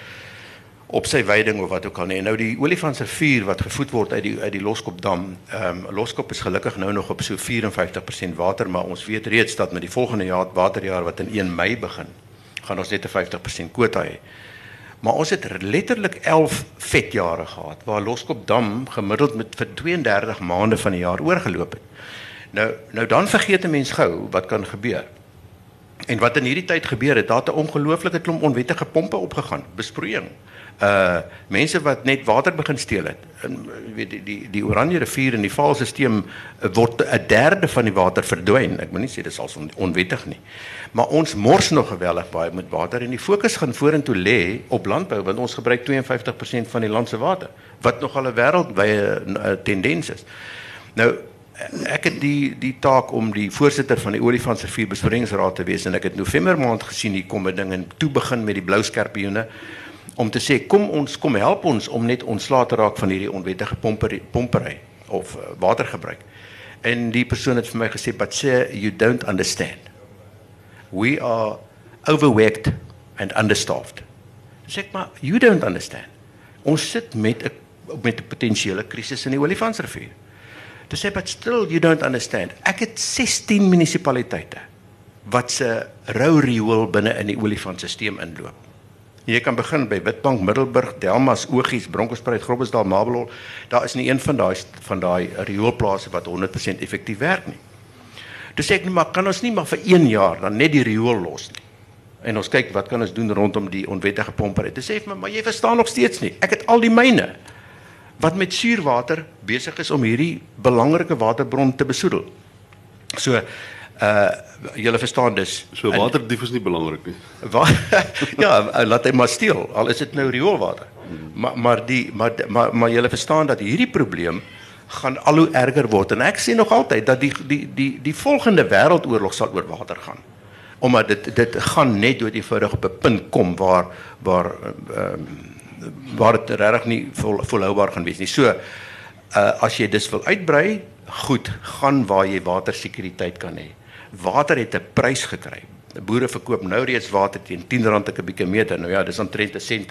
Op sy weiding of wat ook al nie. Nou die Olifantsrivier wat gevoed word uit die uit die Loskopdam. Ehm um, Loskop is gelukkig nou nog op so vyf en vyftig persent water, maar ons weet reeds dat met die volgende jaar waterjaar wat in een Mei begin, gaan ons net 'n vyftig persent kwota hê. Maar ons het letterlik elf vetjare gehad waar Loskopdam gemiddeld met vir twee en dertig maande van die jaar oorgeloop het. Nou nou dan vergeet 'n mens gou wat kan gebeur. En wat in hierdie tyd gebeur het, daar het 'n ongelooflike klomp onwettige pompe opgegaan, besproeiing. Uh mense wat net water begin steel het. En weet die die die Oranje rivier en die Vaalstelsel word 'n derde van die water verdwyn. Ek moet nie sê dit is al on, onwettig nie. Maar ons mors nog geweldig baie met water en die fokus gaan vorentoe lê op landbou want ons gebruik twee en vyftig persent van die land se water wat nogal 'n wêreldwye tendens is. Nou ek het die die taak om die voorsitter van die Olifantsrivier Besproeiingsraad te wees en ek het November maand gesien hier kom 'n ding en toe begin met die blou skerpioene om te sê kom ons kom help ons om net ontslae te raak van hierdie onwettige pompery, pompery of uh, watergebruik. En die persoon het vir my gesê but sir you don't understand. We are overworked and understaffed. Sê ek maar you don't understand. Ons sit met 'n met 'n potensiële krisis in die Olifantsrivier. Toe sê but still you don't understand. Ek het sestien munisipaliteite wat se rou riool binne in die Olifantstelsel inloop. Jy kan begin by Witbank, Middelburg, Delmas, Ogies, Bronkhorstspruit, Groblersdal, Mabelol. Daar is nie een van daai van daai rioolplase wat honderd persent effektief werk nie. Toe sê ek nie, maar kan ons nie maar vir een jaar dan net die riool los nie. En ons kyk wat kan ons doen rondom die onwettige pompery. Toe sê ek my, maar jy verstaan nog steeds nie. Ek het al die myne wat met suurwater besig is om hierdie belangrike waterbron te besoedel. So uh julle verstaan dus. So waterdief is nie belangrik nie. Wa ja, laat hy maar steel, al is dit nou rioolwater. Hmm. Maar maar die maar maar maar julle verstaan dat hierdie probleem gaan al hoe erger word en ek sê nog altyd dat die die die die volgende wêreldoorlog sal oor water gaan. Omdat dit dit gaan net dood eenvoudig op 'n punt kom waar waar ehm um, waar dit regtig nie vol, volhoubaar gaan wees nie. So uh, as jy dis wil uitbrei, goed, gaan waar jy watersekuriteit kan hê. Water het 'n prys gekry. Boere verkoop nou reeds water teen tien rand per kubieke meter. Nou ja, dis omtrent 'n sent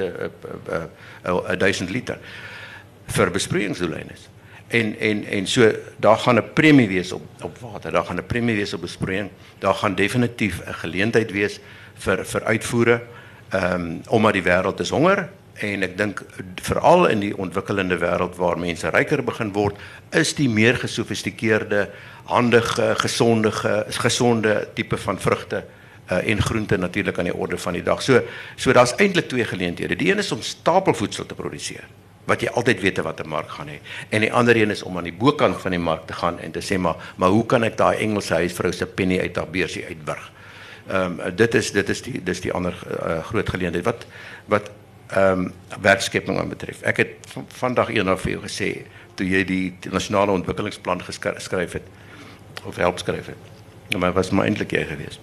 'n duisend liter vir besproeiingsdoeleindes. En en en so daar gaan 'n premie wees op op water. Daar gaan 'n premie wees op besproeiing. Daar gaan definitief 'n geleentheid wees vir vir uitvoere. Ehm um, omdat die wêreld is honger En ek dink veral in die ontwikkelende wêreld waar mense ryker begin word, is die meer gesofistikeerde, handige, gesonde, gesonde tipe van vrugte uh, en groente natuurlik aan die orde van die dag. So so daar's eintlik twee geleenthede. Die een is om stapelvoedsel te produseer, wat jy altyd weet wat 'n mark gaan hê. En die ander een is om aan die bokant van die mark te gaan en te sê maar, maar hoe kan ek daai Engelse huisvrou se penny uit haar beursie uitburg? Ehm um, dit is dit is die dis die ander uh, groot geleentheid wat wat ehm um, werkskepping aan betref. Ek het vandag eendag vir jou gesê toe jy die, die nasionale ontwikkelingsplan geskryf het of help skryf het. Maar was maar eintlik jy gewees.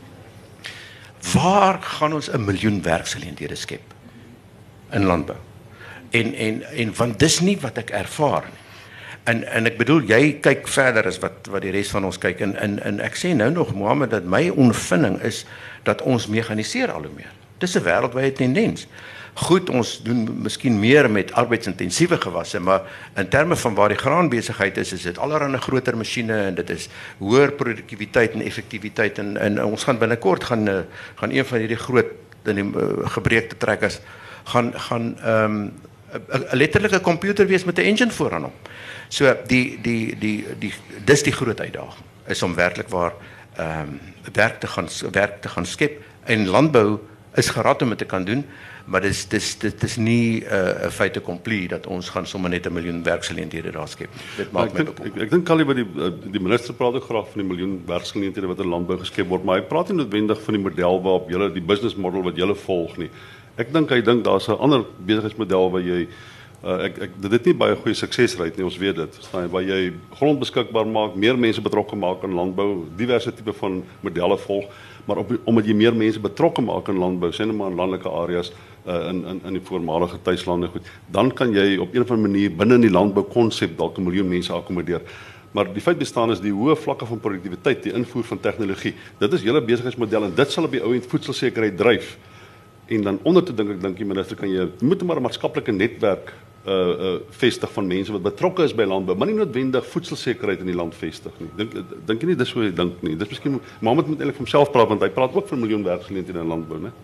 Waar gaan ons 'n miljoen werksgeleenthede skep in landbou? En en en want dis nie wat ek ervaar nie. En en ek bedoel jy kyk verder as wat wat die res van ons kyk en en en ek sê nou nog Mohammed dat my ondervinding is dat ons mekaniseer al hoe meer. Dis 'n wêreldwye tendens. Goed, ons doen miskien meer met arbeidsintensiewe gewasse, maar in terme van waar die graanbesigheid is, is dit allerhande groter masjiene en dit is hoër produktiwiteit en effektiwiteit en en ons gaan binnekort gaan gaan een van hierdie groot in die uh, gebreekte trekkers gaan gaan ehm um, 'n letterlike komputer wees met 'n engine vooraan hom. So die die die die dis die groot uitdaging is om werklik waar ehm um, werk te gaan werk te gaan skep en landbou is gerad om dit te kan doen, maar dis dis dit is nie 'n uh, feit accompli dat ons gaan sommer net 'n miljoen werksgeleenthede daar skep. Dit maak my bekommerd. Ek ek dink Callie by die die minister praat ook graag van die miljoen werksgeleenthede wat in landbou geskep word, maar hy praat nie noodwendig van die model waarop julle die business model wat julle volg nie. Ek dink hy dink daar's 'n ander besigheidsmodel waar jy uh, ek ek dit het nie baie goeie suksesrate nie, ons weet dit. Verstaan, waar jy grond beskikbaar maak, meer mense betrokke maak in landbou, diverse tipe van modelle volg, maar op, omdat jy meer mense betrokke maak in landbou, sê net maar in landelike areas uh, in in in die voormalige tuislande goed, dan kan jy op een of ander manier binne in die landbou konsep dalk 'n miljoen mense akkommodeer. Maar die feit bestaan is die hoë vlakke van produktiwiteit, die invoer van tegnologie. Dit is julle besigheidsmodel en dit sal op die ou end voedselsekerheid dryf. En dan onder te dink ek dink die minister kan jy moet maar 'n maatskaplike netwerk uh uh vestig van mense wat betrokke is by landbou, maar nie noodwendig voedselsekerheid in die land vestig nie. Dink dink jy nie dis hoe jy dink nie. Dis miskien Mohammed moet eintlik vir homself praat want hy praat ook van 'n miljoen werksgeleenthede in landbou, né?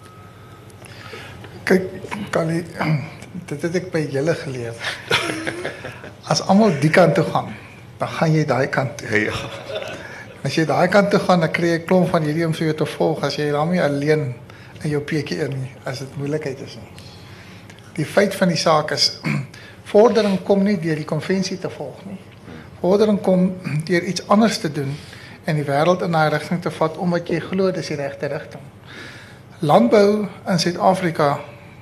Kyk, Callie, dit het ek by julle geleer. As almal die kant toe gaan, dan gaan jy daai kant toe. Ja. As jy daai kant toe gaan, dan kry jy 'n klomp van hierdie om vir jou te volg as jy daarmee alleen in jou P K in nie, as dit moeilikheid is nie. Die feit van die saak is, vordering kom nie deur die konvensie te volg nie. Vordering kom deur iets anders te doen en die wêreld in daai rigting te vat omdat jy glo dis die regte rigting. Landbou in Suid-Afrika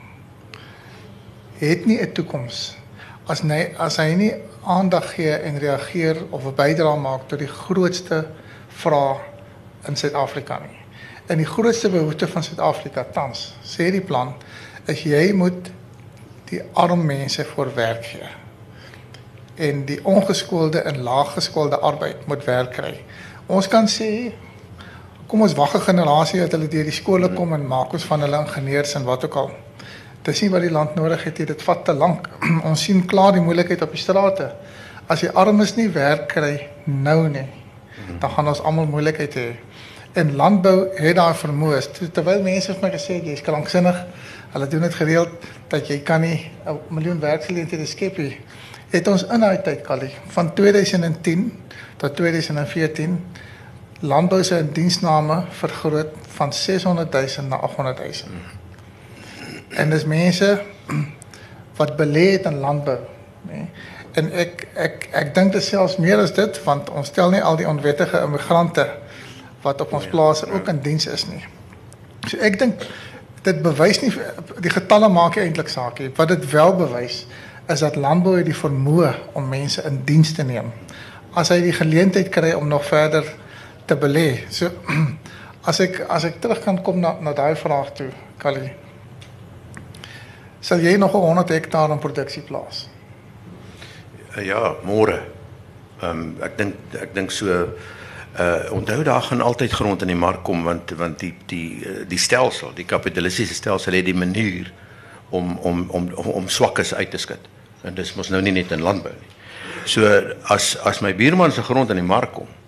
het nie 'n toekoms as nie as hy nie aandag gee en reageer of 'n bydrae maak tot die grootste vraag in Suid-Afrika nie. En die grootste behoefte van Suid-Afrika tans, sê die plan, is jy moet die arm mense voor werk gee. En die ongeskoolde en laaggeskoolde arbeid moet werk kry. Ons kan sê, kom ons wag 'n generasie dat hulle deur die skole kom en maak ons van hulle ingenieurs en wat ook al. Dis nie wat die land nodig het, dit vat te lank. Ons sien klaar die moeilikheid op die strate. As die armes nie werk kry nou nie, dan gaan ons almal moeilikheid hê. En landbou het daar vermoë. Terwyl mense vir my gesê het, jy is kranksinnig, hulle doen dit gereeld, dat jy kan nie 'n miljoen werksgeleenthede skep nie. Het ons in daai tyd, Callie, van tweeduisend tien tot tweeduisend veertien, landbou se indiensname vergroot van seshonderd duisend na agthonderd duisend. En dis mense wat belê het in landbou, nee. En ek ek ek dink dit selfs meer as dit, want ons stel nie al die onwettige immigrante wat op ons plase ook in diens is nie. So ek dink dit bewys nie, die getalle maak nie eintlik saak nie. Wat dit wel bewys is dat landbou het die vermoë om mense in diens te neem. As hy die geleentheid kry om nog verder te belê. So as ek as ek terug kan kom na na daai vraag toe, Callie. Sal jy nog 'n honderd hektaar in produksie plaas? Ja, môre. Ehm um, ek dink ek dink so uh onthou daar gaan altyd grond in die mark kom want want die die die stelsel, die kapitalistiese stelsel het die manier om om om om swakkes uit te skud. En dis mos nou nie net in landbou nie. So as as my buurman se grond in die mark kom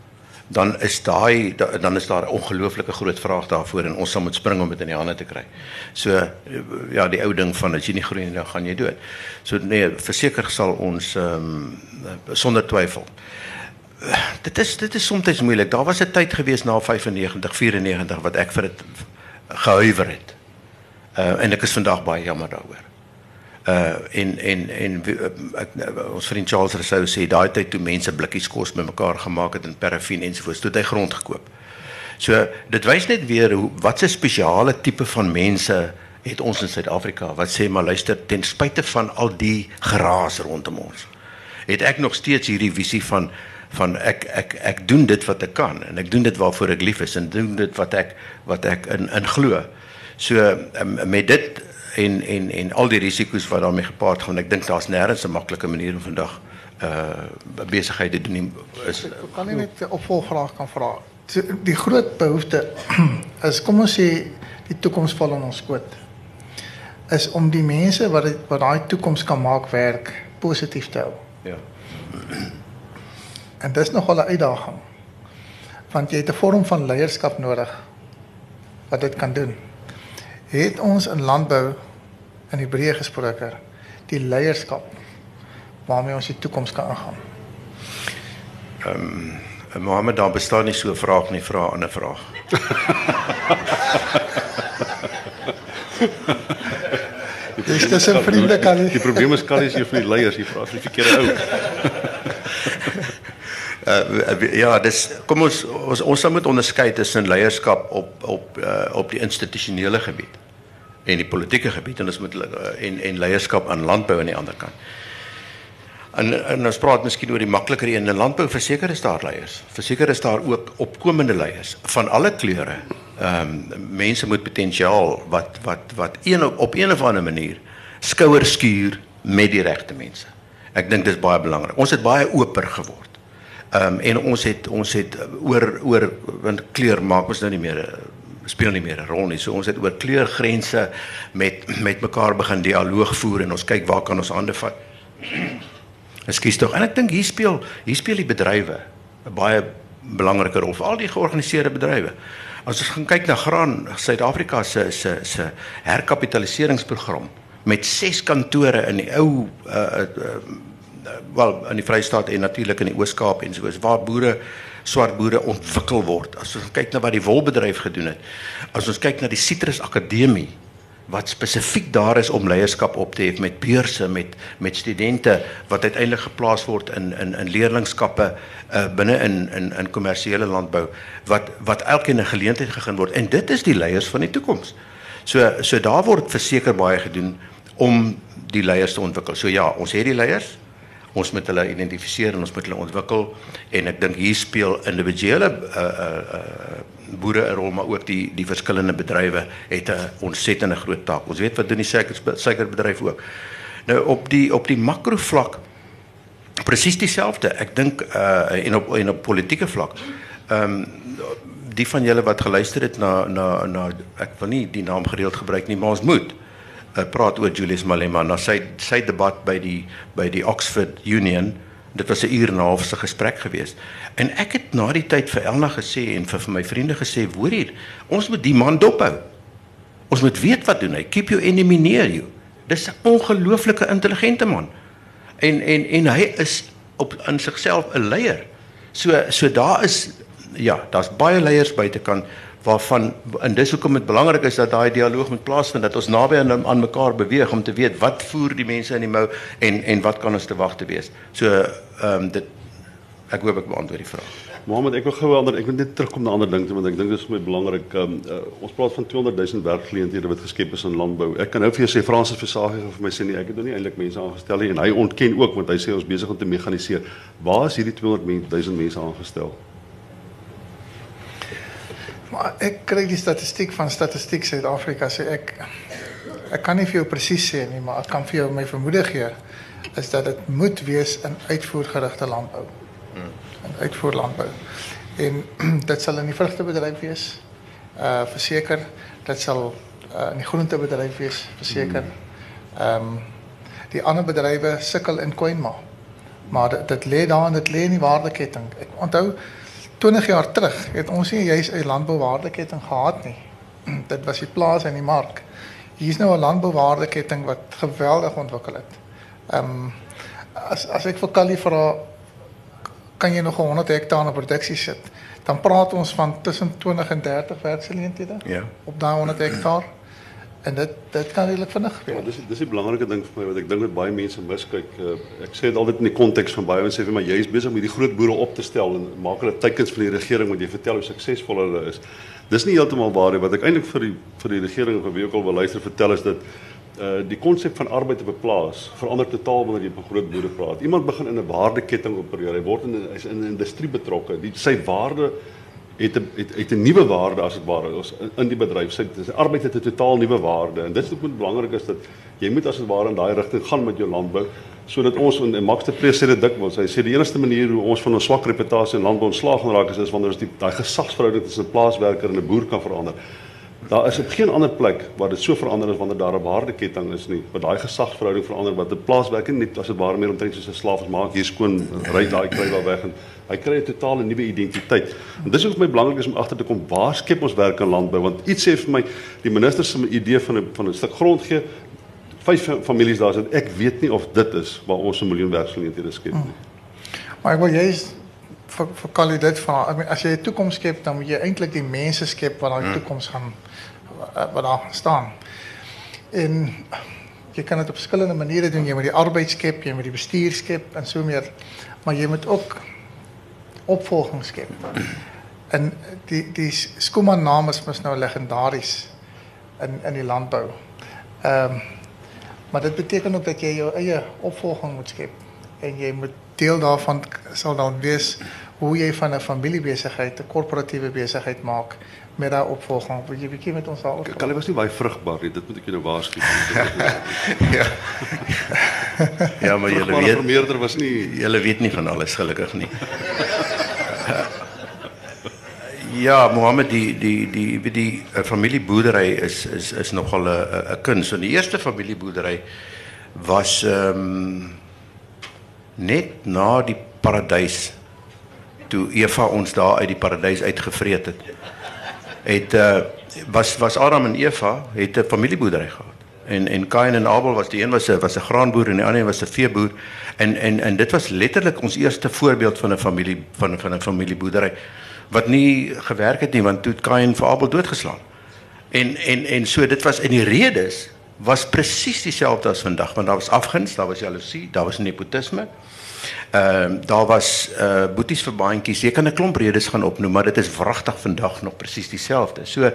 dan is daai dan is daar 'n ongelooflike groot vraag daarvoor en ons sal moet spring om dit in die hande te kry. So ja, die ou ding van as jy nie groei nie, dan gaan jy dood. So nee, verseker sal ons ehm um, sonder twyfel. Dit is dit is soms moeilik. Daar was 'n tyd gewees na vyfennegentig, vierennegentig wat ek vir dit gehuiwer het. Uh, en ek is vandag baie jammer daaroor. Uh en en en ek, ons vriend Charles Rousseau sê daai tyd toe mense blikkies kos bymekaar gemaak het en paraffien ensovoorts, toe het hy grond gekoop. So dit wys net weer hoe wat 'n spesiale tipe van mense het ons in Suid-Afrika wat sê maar luister, ten spyte van al die geraas rondom ons, het ek nog steeds hierdie visie van van ek ek ek doen dit wat ek kan en ek doen dit waarvoor ek lief is en doen dit wat ek wat ek in in glo. So um, met dit en en en al die risiko's wat daarmee gepaard gaan, ek dink daar's nêrens 'n maklike manier om vandag uh besigheid te doen is. Ek kan nie net 'n opvolgvraag kan vra. Die groot behoefte is, kom ons sê die toekoms val in ons skoot, is om die mense wat die, wat daai toekoms kan maak werk positief te hou. Ja. En dis nogal 'n uitdaging. Want jy het 'n vorm van leierskap nodig wat dit kan doen. Het ons in landbou in die breë gesproke die leierskap waarmee ons die toekoms kan ingaan? Ehm um, Mohammed, daar bestaan nie so 'n vraag nie, vra 'n ander vraag. Dis dis 'n vriende kan nie. Die probleem is Carrie is een van die leiers, jy vra vir die verkeerde ou. Uh, ja, dis kom ons ons ons sal moet onderskei tussen leierskap op op uh, op die institusionele gebied en die politieke gebied en ons moet uh, en en leierskap aan landbou aan die ander kant. En, en ons praat miskien oor die makliker een in landbou, verseker is daar leiers. Verseker is daar ook opkomende leiers van alle kleure. Ehm um, mense met potensiaal wat wat wat een op, op een of ander manier skouers skuur met die regte mense. Ek dink dis baie belangrik. Ons het baie oper geword. Ehm um, en ons het ons het oor oor want kleur maak ons nou nie meer speel nie meer 'n rol nie. So ons het oor kleurgrense met met mekaar begin dialoog voer en ons kyk waar kan ons hande vat. Ekskuus tog. En ek dink hier speel hier speel die bedrywe 'n baie belangrike rol, al die georganiseerde bedrywe. As ons gaan kyk na graan, Suid-Afrika se se se herkapitaliseringsprogram met ses kantore in die ou uh, uh, uh, wel in die Vrystaat en natuurlik in die Oos-Kaap en soos waar boere swart boere ontwikkel word. As ons kyk na wat die wolbedryf gedoen het, as ons kyk na die Citrus Akademie wat spesifiek daar is om leierskap op te hê met beurse met met studente wat uiteindelik geplaas word in in in leerlingskappe uh, binne in in in kommersiële landbou wat wat elkeen 'n geleentheid gegee word en dit is die leiers van die toekoms. So so daar word verseker baie gedoen om die leiers te ontwikkel. So ja, ons het die leiers. Ons moet hulle identifiseer en ons moet hulle ontwikkel en ek dink hier speel individuele uh, uh, uh, boere 'n rol, maar ook die die verskillende bedrywe het 'n ontsettende groot taak. Ons weet wat doen die suiker suikerbedryf ook. Nou op die op die makrovlak presies dieselfde. Ek dink uh, en op en op politieke vlak. Ehm um, die van julle wat geluister het na na na ek wil nie die naam gereeld gebruik nie, maar ons moet Uh, praat oor Julius Malema na sy sy debat by die by die Oxford Union. Dit was 'n uur en 'n half se gesprek geweest. En ek het na die tyd vir Elna gesê en vir, vir my vriende gesê, hoor hier, ons moet die man dophou. Ons moet weet wat doen hy. Keep your enemy near you. Dis 'n ongelooflike intelligente man. En en en hy is op in sigself 'n leier. So so daar is ja, daar's baie leiers buitekant waarvan en dis hoekom dit belangrik is dat daai dialoog moet plaasvind, dat ons naby aan, aan mekaar beweeg om te weet wat voer die mense in die mou en en wat kan ons te wag te wees. So ehm um, dit ek hoop ek beantwoord die vraag. Mohammed, ek wil gou ander ek wil net terugkom na ander dinge want ek dink dit is baie belangrik. Um, uh, ons praat van tweehonderd duisend werkgeleenthede wat geskep is in landbou. Ek kan nou vir jou sê Fransis Versace vir my sê nee, ek het nog nie eintlik mense aangestel nie en hy ontken ook want hy sê ons besig om te mekaniseer. Waar is hierdie tweehonderd duisend mense aangestel? Maar ek kry die statistiek van Statistiek Suid-Afrika sê ek ek kan nie vir jou presies sê nie, maar ek kan vir jou my vermoede gee is dat dit moet wees in uitvoergerigte landbou. Hmm. In uitvoerlandbou. En dit sal in die vrugtebedryf wees. Uh verseker, dit sal uh, in die groentebedryf wees, verseker. Ehm um, die ander bedrywe sukkel in Koinma. Maar dit, dit lê daar en dit lê in die waardeketting. Ek onthou twintig jaar terug het ons nie juist 'n landbouwaardeketting gehad nie. Dit was die plaas en die mark. Hier is nou 'n landbouwaardeketting wat geweldig ontwikkel het. Ehm um, as as ek vir Callie vra, kan jy nog honderd hektaar in produksie sit? Dan praat ons van tussen twintig en dertig werksgeleenthede Ja. op daai honderd hektaar. En dit dit kan redelik vinnig gebeur. Ja, dis dis die belangrike ding vir my wat ek dink dat baie mense miskyk. Uh, ek sê dit altyd in die konteks van baie mense sê vir my jy is besig om hierdie groot boere op te stel en maak hulle teikens vir die regering want jy vertel hoe suksesvol hulle is. Dis nie heeltemal waar nie. Wat ek eintlik vir die vir die regering of wie ook al wil luister vertel is dat uh, die konsep van arbeid op 'n plaas verander totaal wanneer jy van groot boere praat. Iemand begin in 'n waardeketting opereer. Hy word in hy's in 'n industrie betrokke. Die sy waarde het 'n het, het 'n nuwe waarde as dit ware ons in, in die bedryf. Sy, sy arbeid het 'n totaal nuwe waarde en dit is ook belangrik is dat jy moet as dit ware in daai rigting gaan met jou landbou sodat ons en Max de Pre sê dit dikwels. Hy sê die enigste manier hoe ons van ons swak reputasie in landbou ontslaag gaan raak is, is wanneer ons die daai gesagsverhouding tussen 'n plaaswerker en 'n boer kan verander. Daar is op geen ander plek waar dit so verander is wanneer daar 'n waardeketting is nie. Waar daai gesagsverhouding verander wat 'n plaaswerker net as dit ware meer omtrent soos 'n slaaf is, maak hier skoon, ry daai kry daar weg en hy kry 'n totale nuwe identiteit. En dis ook vir my belangrik is om agter te kom waar skep ons werk in landbou want iets sê vir my die minister se idee van 'n van 'n stuk grond gee vyf families daar sit. Ek weet nie of dit is waar ons 'n miljoen werksgeleenthede skep nie. Hmm. Maar ek wil juist vir vir Callie dit vra. I mean, as jy 'n toekoms skep, dan moet jy eintlik die mense skep wat daai toekoms gaan wat daar gaan staan. En jy kan dit op verskillende maniere doen. Jy moet die arbeid skep, jy moet die bestuur skep en so meer. Maar jy moet ook opvolging skep. En die die Schoeman naam is mos nou legendaries in in die landbou. Ehm um, maar dit beteken ook dat jy jou eie opvolging moet skep en jy moet deel daarvan sal dan wees hoe jy van 'n familiebesigheid 'n korporatiewe besigheid maak met daai opvolging. Wil jy bietjie met ons daaroor? Callie was nie baie vrugbaar nie. Dit moet ek jou nou waarsku. ja. ja, maar julle weet vermeerder was nie julle weet nie van alles gelukkig nie. Ja, Mohammed, die die die die, die uh, familieboerdery is is is nogal 'n 'n kuns. En die eerste familieboerdery was ehm um, net na die paradys toe Eva ons daar uit die paradys uitgevreet het. Het uh, was was Adam en Eva het 'n familieboerdery gehad. En en Kain en Abel was die een was 'n was 'n graanboer en die ander was 'n veeboer. En en en dit was letterlik ons eerste voorbeeld van 'n familie van van 'n familieboerdery wat nie gewerk het nie want toe het Kain vir Abel doodgeslaan. En en en so dit was in die redes was presies dieselfde as vandag want daar was afguns, daar was jaloesie, daar was nepotisme. Ehm uh, daar was uh boeties vir baantjies. Jy kan 'n klomp redes gaan opnoem, maar dit is wragtig vandag nog presies dieselfde. So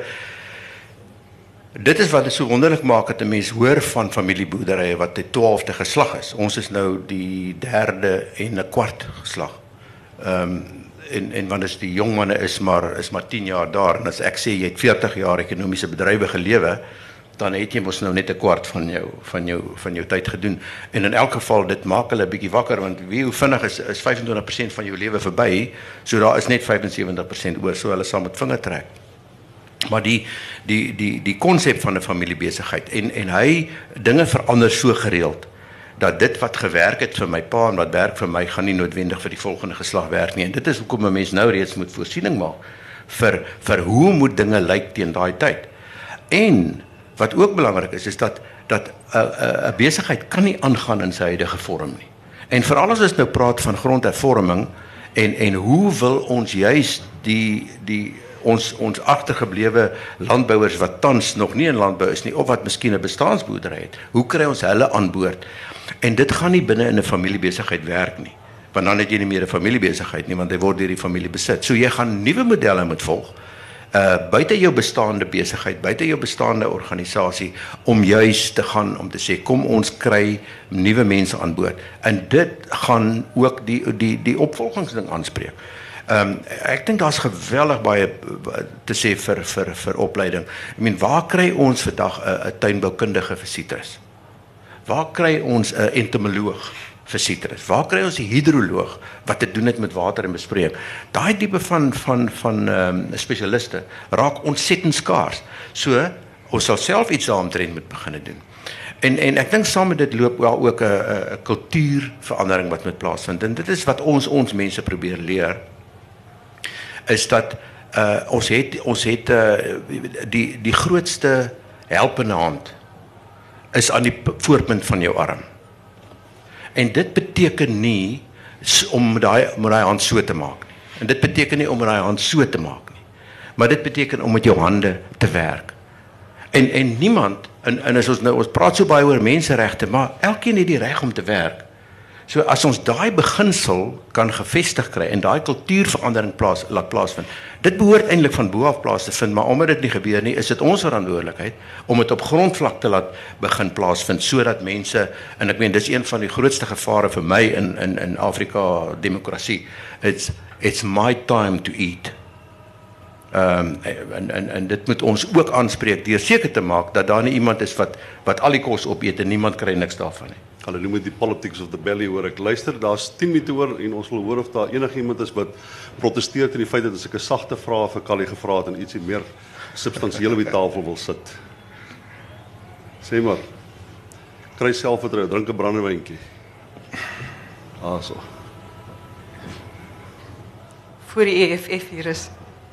dit is wat dit so wonderlik maak dat 'n mens hoor van familieboerderye wat die twaalfde geslag is. Ons is nou die derde en 'n kwart geslag. Ehm um, en en want as die jong manne is maar is maar tien jaar daar en as ek sê jy het veertig jaar ekonomiese bedrywe gelewe, dan het jy mos nou net 'n kwart van jou van jou van jou tyd gedoen. En in elk geval dit maak hulle 'n bietjie wakker want wie hoe vinnig is is vyf en twintig persent van jou lewe verby, so daar is net vyf en sewentig persent oor, so hulle sal met vinger trek. Maar die die die die konsep van 'n familiebesigheid en en hy dinge verander so gereeld dat dit wat gewerk het vir my pa en wat werk vir my gaan nie noodwendig vir die volgende geslag werk nie. En dit is hoekom 'n mens nou reeds moet voorsiening maak vir vir hoe moet dinge lyk teen daai tyd. En wat ook belangrik is is dat dat 'n uh, 'n uh, besigheid kan nie aangaan in sy huidige vorm nie. En veral as ons nou praat van grondhervorming en en hoe wil ons juis die die ons ons agtergeblewe landbouers wat tans nog nie in landbou is nie of wat miskien 'n bestaansboerdery het. Hoe kry ons hulle aan boord? En dit gaan nie binne in 'n familiebesigheid werk nie. Want dan het jy nie meer 'n familiebesigheid nie want hy word deur die familie besit. So jy gaan nuwe modelle moet volg. Uh buite jou bestaande besigheid, buite jou bestaande organisasie om juis te gaan om te sê kom ons kry nuwe mense aan boord. En dit gaan ook die die die opvolgingsding aanspreek. Ehm um, ek dink daar's geweldig baie te sê vir vir vir opleiding. Ek meen waar kry ons vandag 'n 'n tuinboukundige vir sitrus? Waar kry ons 'n entomoloog vir sitrus? Waar kry ons 'n hidroloog wat te doen het met water en besproeiing? Daai tipe van van van ehm um, spesialiste raak ontsettend skaars. So ons sal self iets daaromtrent moet begin doen. En en ek dink saam met dit loop wel ook 'n 'n kultuurverandering wat moet plaasvind. En dit is wat ons ons mense probeer leer is dat uh, ons het ons het uh, die die grootste helpende hand is aan die voorpunt van jou arm. En dit beteken nie om daai om daai hand so te maak nie. En dit beteken nie om daai hand so te maak nie. Maar dit beteken om met jou hande te werk. En en niemand en en as ons nou ons praat so baie oor menseregte, maar elkeen het die reg om te werk. So as ons daai beginsel kan gevestig kry en daai kultuurverandering plaas laat plaasvind. Dit behoort eintlik van bo af plaas te vind, maar omdat dit nie gebeur nie, is dit ons verantwoordelikheid om dit op grondvlak te laat begin plaasvind sodat mense, en ek meen dis een van die grootste gevare vir my in in in Afrika demokrasie. It's it's my time to eat. Ehm um, en en en dit moet ons ook aanspreek deur seker te maak dat daar nie iemand is wat wat al die kos opeet en niemand kry niks daarvan nie. Hulle noem dit die politics of the belly, hoor ek. Luister, daar's tien minute oor en ons wil hoor of daar enigiemand is wat protesteer teen die feit dat as ek 'n sagte vraag vir Callie gevra het en ietsie meer substansieel op die tafel wil sit. Sê maar. Kry selfvertroue, drink 'n brandewyntjie. Ah so. Voor die E F F hier is.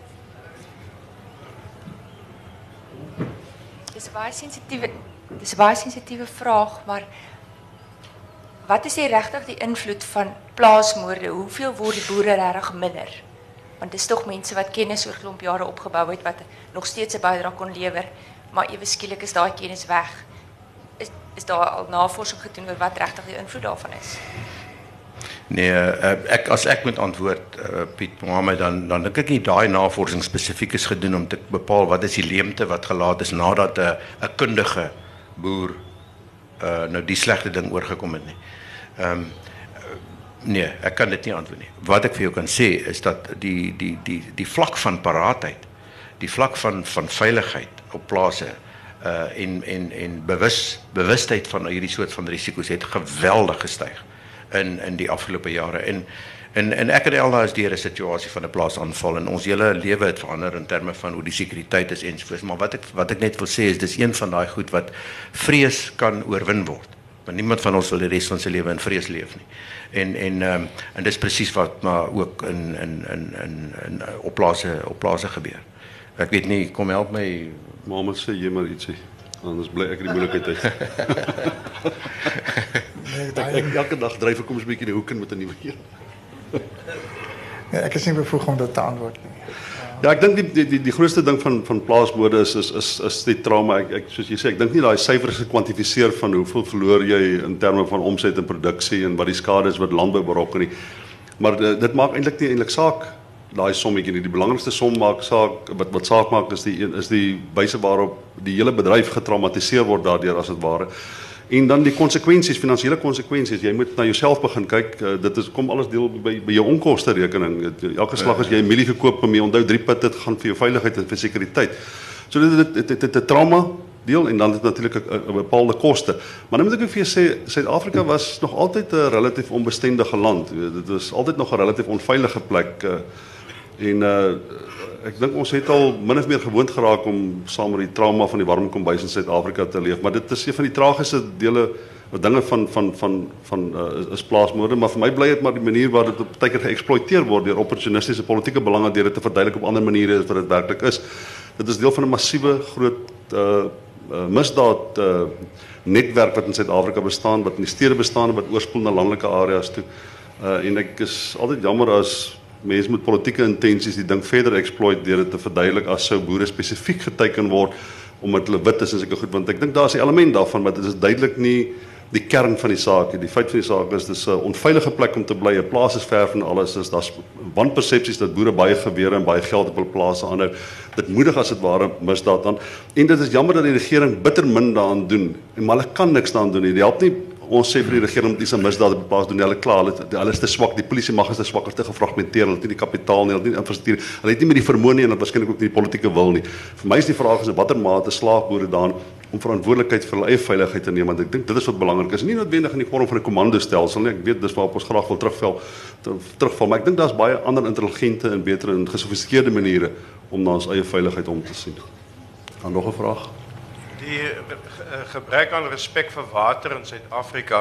Dis 'n baie sensitiewe dis 'n baie sensitiewe vraag, maar wat is die regtig die invloed van plaasmoorde? Hoeveel word die boere regtig minder? Want dis tog mense wat kennis oor klomp jare opgebou het wat nog steeds 'n bydrae kon lewer, maar ewe skielik is daai kennis weg. Is is daar al navorsing gedoen oor wat regtig die invloed daarvan is? Nee, uh, ek as ek moet antwoord uh, Piet Mohammed, dan dan dink ek nie daai navorsing spesifiek is gedoen om te bepaal wat is die leemte wat gelaat is nadat 'n uh, 'n kundige boer uh, nou die slegte ding oorgekom het nie. Ehm um, nee, ek kan dit nie antwoord nie. Wat ek vir jou kan sê is dat die die die die vlak van paraatheid, die vlak van van veiligheid op plase uh en en en bewus bewustheid van hierdie soort van risiko's het geweldig gestyg in in die afgelope jare. En en en ek en Elna is deur 'n situasie van 'n plaasaanval en ons hele lewe het verander in terme van hoe die sekuriteit is ensovoorts. Maar wat ek wat ek net wil sê is dis een van daai goed wat vrees kan oorwin word. Want niemand van ons wil die res van sy lewe in vrees leef nie. En en um, en dis presies wat maar ook in in in in in op plase op plase gebeur. Ek weet nie, kom help my. Mohammed, sê jy maar ietsie. Anders bly ek in die moeilikheid uit. Nee, ek, ek elke dag dryf ek kom 'n bietjie in die hoek in met 'n nuwe een. nee, ek is nie bevoeg om dit te antwoord nie. Ja, ek dink die die die, die grootste ding van van plaasmoorde is is is is die trauma. Ek, ek soos jy sê, ek dink nie daai syfers gekwantifiseer van hoeveel verloor jy in terme van omset en produksie en wat die skade is wat landbou berokken nie. Maar dit, dit maak eintlik nie eintlik saak daai sommetjie nie. Die belangrikste som maak saak wat wat saak maak is die is die wyse waarop die hele bedryf getraumatiseer word daardeur as dit ware. En dan die konsekwensies, finansiële konsekwensies. Jy moet na jouself begin kyk. Uh, dit is kom alles deel by by jou onkoste rekening. Elke slag as jy 'n mielie gekoop, maar jy onthou drie put dit gaan vir jou veiligheid en vir sekuriteit. So dit dit dit dit 'n trauma deel en dan het natuurlik 'n bepaalde koste. Maar nou moet ek ook vir jou sê, Suid-Afrika was nog altyd 'n relatief onbestendige land. Dit was altyd nog 'n relatief onveilige plek. Uh, en uh, ek dink ons het al min of meer gewoond geraak om saam met die trauma van die warm kombuis in Suid-Afrika te leef, maar dit is een van die tragiese dele of dinge van van van van uh, is plaasmoorde, maar vir my bly dit maar die manier waar dit op tydjie geëksploiteer word deur opportunistiese politieke belange deur dit te verduidelik op ander maniere as wat dit werklik is. Dit is deel van 'n massiewe groot uh, uh, misdaad uh, netwerk wat in Suid-Afrika bestaan, wat in die stede bestaan, wat oorspoel na landelike areas toe. Uh, en ek is altyd jammer as mense met politieke intensies die ding verder exploit deur dit te verduidelik as sou boere spesifiek geteken word omdat hulle wit is en sulke goed, want ek dink daar is 'n element daarvan, maar dit is duidelik nie die kern van die saak nie. Die feit van die saak is dis 'n onveilige plek om te bly. 'n Plaas is ver van alles, is daar's wanpersepsies dat boere baie gewere en baie geld op hul plase aanhou. Dit moedig as dit ware misdaad aan. En dit is jammer dat die regering bitter min daaraan doen. En maar hulle kan niks daaraan doen nie. Dit help nie ons sê vir die regering om dis 'n misdaad op plaas doen. Hulle klaar, hulle, hulle is te swak. Die polisie mag is te swak, is te gefragmenteer. Hulle het nie die kapitaal nie, hulle het nie die infrastruktuur. Hulle het nie met die vermoë nie en hulle waarskynlik ook nie die politieke wil nie. Vir my is die vraag is in watter mate slaag boere daarin om verantwoordelikheid vir hulle eie veiligheid te neem, want ek dink dit is wat belangrik is. Nie noodwendig in die vorm van 'n kommandostelsel nie. Ek weet dis waarop ons graag wil terugval, terugval, maar ek dink daar's baie ander intelligente en beter en gesofistikeerde maniere om na ons eie veiligheid om te sien. Dan nog 'n vraag. Die gebrek aan respek vir water in Suid-Afrika.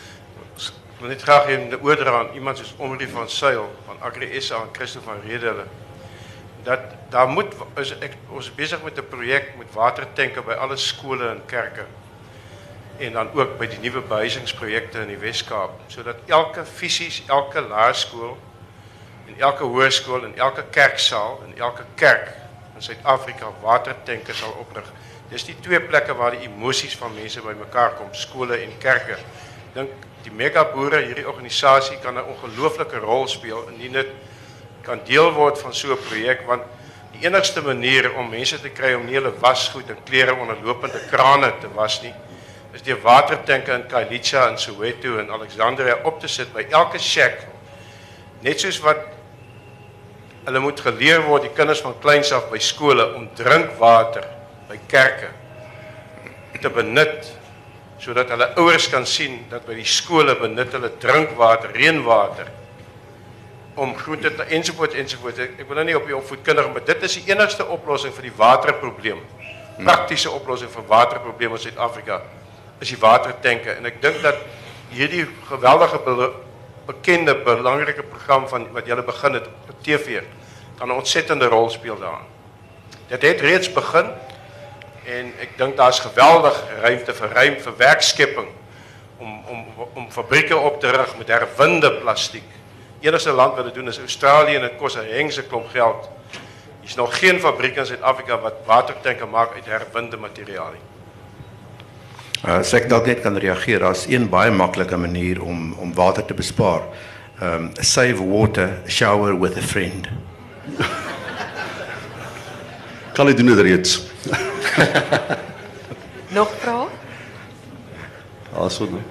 Ek wil net graag in die oordra aan iemand soos Omri van Sail van Agri S A en Christo van Redele. dat daar moet is ek, ons is besig met 'n projek met watertanke by alle skole en kerke. En dan ook by die nuwe behuisingsprojekte in die Wes-Kaap, sodat elke fisies, elke laerskool en elke hoërskool en elke kerksaal en elke kerk in Suid-Afrika watertanke sal oprig. Dis die twee plekke waar die emosies van mense bymekaar kom, skole en kerke. Ek dink die megaboere, hierdie organisasie kan 'n ongelooflike rol speel indien dit kan deel word van so 'n projek, want die enigste manier om mense te kry om nie hulle wasgoed en klere onder lopende krane te was nie, is die watertanke in Khayelitsha en Soweto en Alexandria op te sit by elke shack. Net soos wat hulle moet geleer word, die kinders van kleins af by skole, om drinkwater by kerke te benut, sodat hulle ouers kan sien dat by die skole benut hulle drinkwater, reënwater, om groente te ensovoorts ensovoorts. Ek, ek wil nou nie op die opvoedkundige, maar dit is die enigste oplossing vir die waterprobleem. Praktiese oplossing vir waterprobleme in Suid-Afrika is die watertanke. En ek dink dat hierdie geweldige be bekende belangrike program van wat julle begin het op T V kan 'n ontsettende rol speel daarin. Dit het reeds begin en ek dink daar's geweldig ruimte vir ruim vir werkskepping om om om fabrieke op te rig met herwinde plastiek. Enigste land wat dit doen is Australië en dit kos 'n hengse klomp geld. Hier's nog geen fabriek in Suid-Afrika wat watertanke maak uit herwinde materiaal nie. Uh, as ek dalk net kan reageer, daar's een baie maklike manier om om water te bespaar. Um, save water, shower with a friend. Kan jy doen dit reeds? Nog vrae? Also, nee.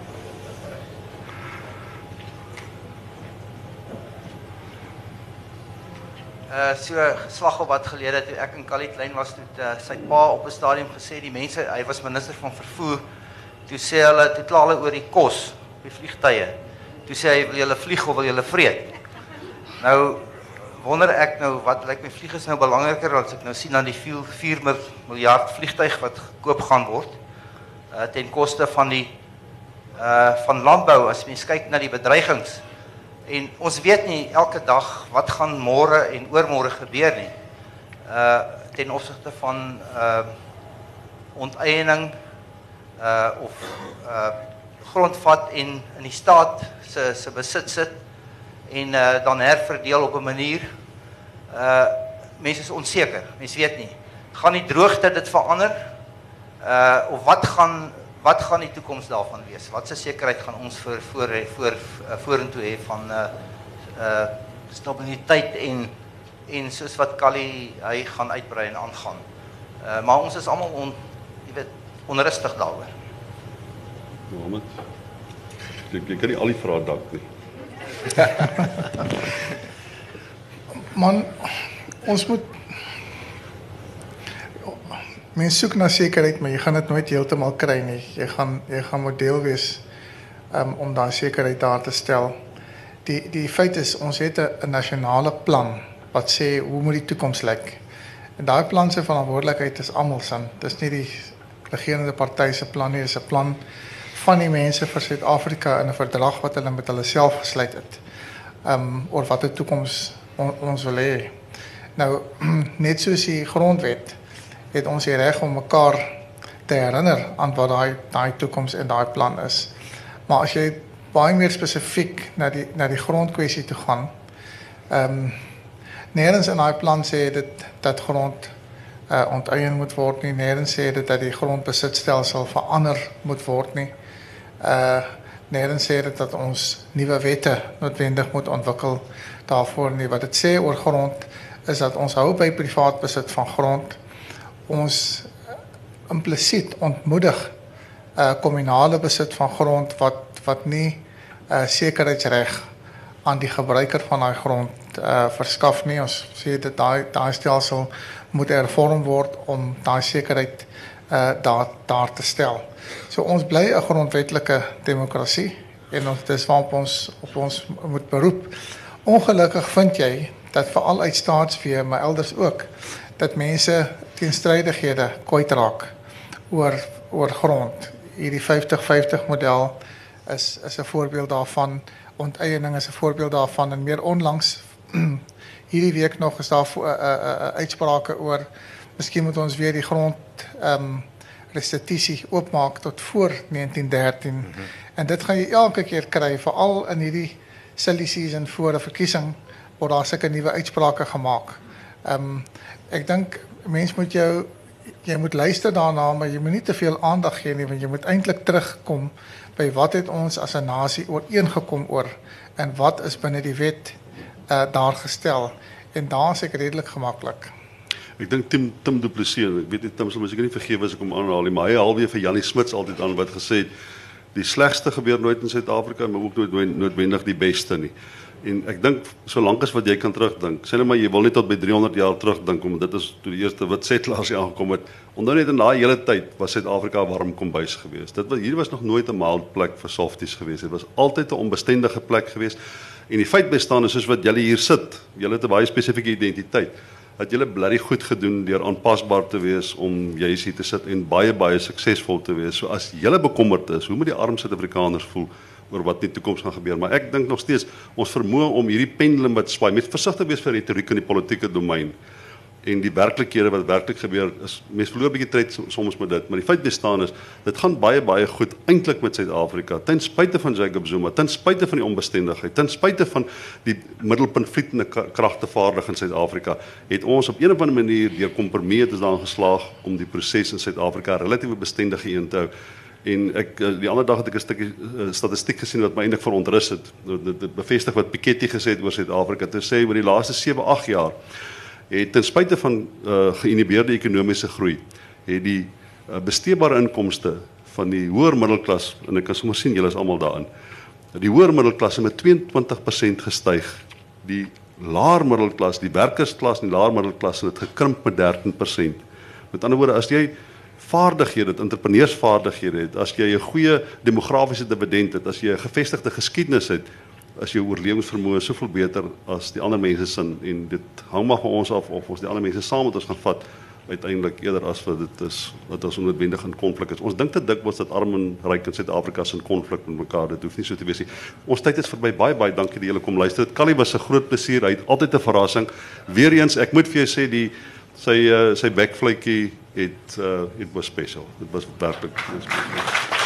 Uh, so geslag op wat gelede toe ek in Kali klein was, toe uh, sy pa op 'n stadium gesê, die mense, hy was minister van vervoer, toe sê hulle, toe kla hulle oor die kos, die vliegtye, toe sê hy, wil julle vlieg of wil julle vreet? Nou, wonder ek nou, wat lyk my vlieg is nou belangriker, as ek nou sien aan die vier miljard vliegtuig wat gekoop gaan word, uh, ten koste van die, uh, van landbou, as mens kyk na die bedreigings. En ons weet nie elke dag wat gaan môre en oormôre gebeur nie. Uh ten opsigte van uh onteiening uh of uh grondvat en in die staat se se besit sit en uh dan herverdeel op 'n manier. Uh mense is onseker. Mense weet nie. Gaan die droogte dit verander? Uh of wat gaan Wat gaan die toekoms daarvan wees? Wat se sekerheid gaan ons voor voor voor vorentoe hê van uh uh stabiliteit en en soos wat Kali hy gaan uitbrei en aangaan. Uh maar ons is almal on jy weet onrustig daaroor. Mohammed. Ek ek kan nie al die vrae dank nie. Man, ons moet Mens soek na sekerheid, maar jy gaan dit nooit heeltemal kry nie. Jy gaan jy gaan moet deel wees um, om daai sekerheid daar te stel. Die die feit is ons het 'n nasionale plan wat sê hoe moet die toekoms lyk. En daai plan se verantwoordelikheid is almal se. Dis nie die regerende party se plan nie, dis 'n plan van die mense vir Suid-Afrika in 'n verdrag wat hulle met hulle self gesluit het. Um oor watter toekoms on, ons wil hê. Nou net soos die grondwet het ons die reg om mekaar te herinner aan wat daai daai toekoms en daai plan is. Maar as jy baie meer spesifiek na die na die grondkwessie toe gaan, ehm um, nêrens in daai plan sê dit dat grond uh, onteien moet word nie, nêrens sê dit dat die grondbesitstelsel verander moet word nie. Uh nêrens sê dit dat ons nuwe wette noodwendig moet ontwikkel daarvoor nie. Wat dit sê oor grond is dat ons hou by privaat besit van grond. Ons implisiet ontmoedig uh, kommunale besit van grond wat wat nie uh, sekerheidsreg aan die gebruiker van daai grond uh, verskaf nie. Ons sê dat daai daai stelsel moet hervorm word om daai sekerheid uh, daar daar te stel. So ons bly 'n grondwetlike demokrasie en ons dis waarop ons op ons moet beroep. Ongelukkig vind jy dat veral uit staatsvee, maar elders ook, dat mense teenstrydighede kwyt raak oor oor grond. Hierdie vyftig vyftig model is is 'n voorbeeld daarvan. Onteiening is 'n voorbeeld daarvan en meer onlangs hierdie week nog is daar uh, uh, uh, uitsprake oor miskien moet ons weer die grond um, restitusie oopmaak tot voor negentien dertien. Mm-hmm. En dit gaan jy elke keer kry, veral in hierdie silly season voor 'n verkiesing word daar sulke nuwe uitsprake gemaak. Um, ek dink mens moet jou jy moet luister daarna, maar jy moet nie te veel aandag gee nie, want jy moet eintlik terugkom by wat het ons as 'n nasie ooreengekom oor en wat is binne die wet uh, daar gestel. En daar is ek redelik gemaklik. Ek dink Tim Tim Du Plessis, ek weet nie Tim sal miskien nie vergewe as ek hom aanhaal nie, maar hy haal weer vir Janie Smits altyd aan wat gesê het die slegste gebeur nooit in Suid-Afrika, maar ook nooit noodwendig die beste nie. En ek dink solank as wat jy kan terugdink, sê net maar jy wil net tot by driehonderd jaar terugdink, omdat dit is toe die eerste wit settlers hier aangekom het. Onthou net in daai hele tyd was Suid-Afrika 'n warm kombuis geweest. Dit was hier was nog nooit 'n mild plek vir softies geweest. Dit was altyd 'n onbestendige plek geweest. En die feit bestaan is soos wat julle hier sit, julle het 'n baie spesifieke identiteit. Dat julle bly goed gedoen deur aanpasbaar te wees om juis hier te sit en baie baie suksesvol te wees. So as julle bekommerd is, hoe moet die arm Suid-Afrikaners voel oor wat in die toekoms gaan gebeur? Maar ek dink nog steeds ons vermoë om hierdie pendulum wat swaai, met versigtig wees vir retoriek in die politieke domein en die werklikhede wat werklik gebeur is, mense verloor 'n bietjie tyd soms met dit, maar die feit bestaan is, dit gaan baie baie goed eintlik met Suid-Afrika, ten spyte van Jacob Zuma, ten spyte van die onbestendigheid, ten spyte van die middelpuntvlietende kragtevaardig in Suid-Afrika, het ons op een of ander manier deur kompromie het ons daarin geslaag om die proses in Suid-Afrika relatief bestendig een te hou. En ek die ander dag het ek 'n stukkie uh, statistiek gesien wat my eintlik verontrus het. Dit, dit bevestig wat Piketty gesê het oor Suid-Afrika. Dit sê oor die laaste sewe agt jaar het ten spyte van uh, geïnhibeerde ekonomiese groei, het die uh, besteedbare inkomste van die hoër middelklas, en ek kan sommer sien julle is almal daarin, die hoër middelklas met tweeëntwintig persent gestyg. Die laer middelklas, die werkersklas en die laer middelklas het gekrimp met dertien persent. Met ander woorde, as jy vaardighede, entrepreneursvaardighede het, as jy 'n goeie demografiese dividend het, as jy 'n gevestigde geskiedenis het, as jou oorlewingsvermoë soveel beter as die ander mense sin, en dit hang maar van ons af of ons die ander mense saam met ons gaan vat uiteindelik eerder as wat dit is wat ons onnoodwendig in konflik is. Ons dink te dikwels dat arm en ryk in Suid-Afrika is in konflik met mekaar. Dit hoef nie so te wees nie. Ons tyd is verby. Baie baie dankie dat julle kom luister. Dit Callie was 'n groot plesier. Hy het altyd 'n verrassing. Weereens, ek moet vir jou sê die sy uh, sy backfluitjie het uh, it was special. Dit was werklik.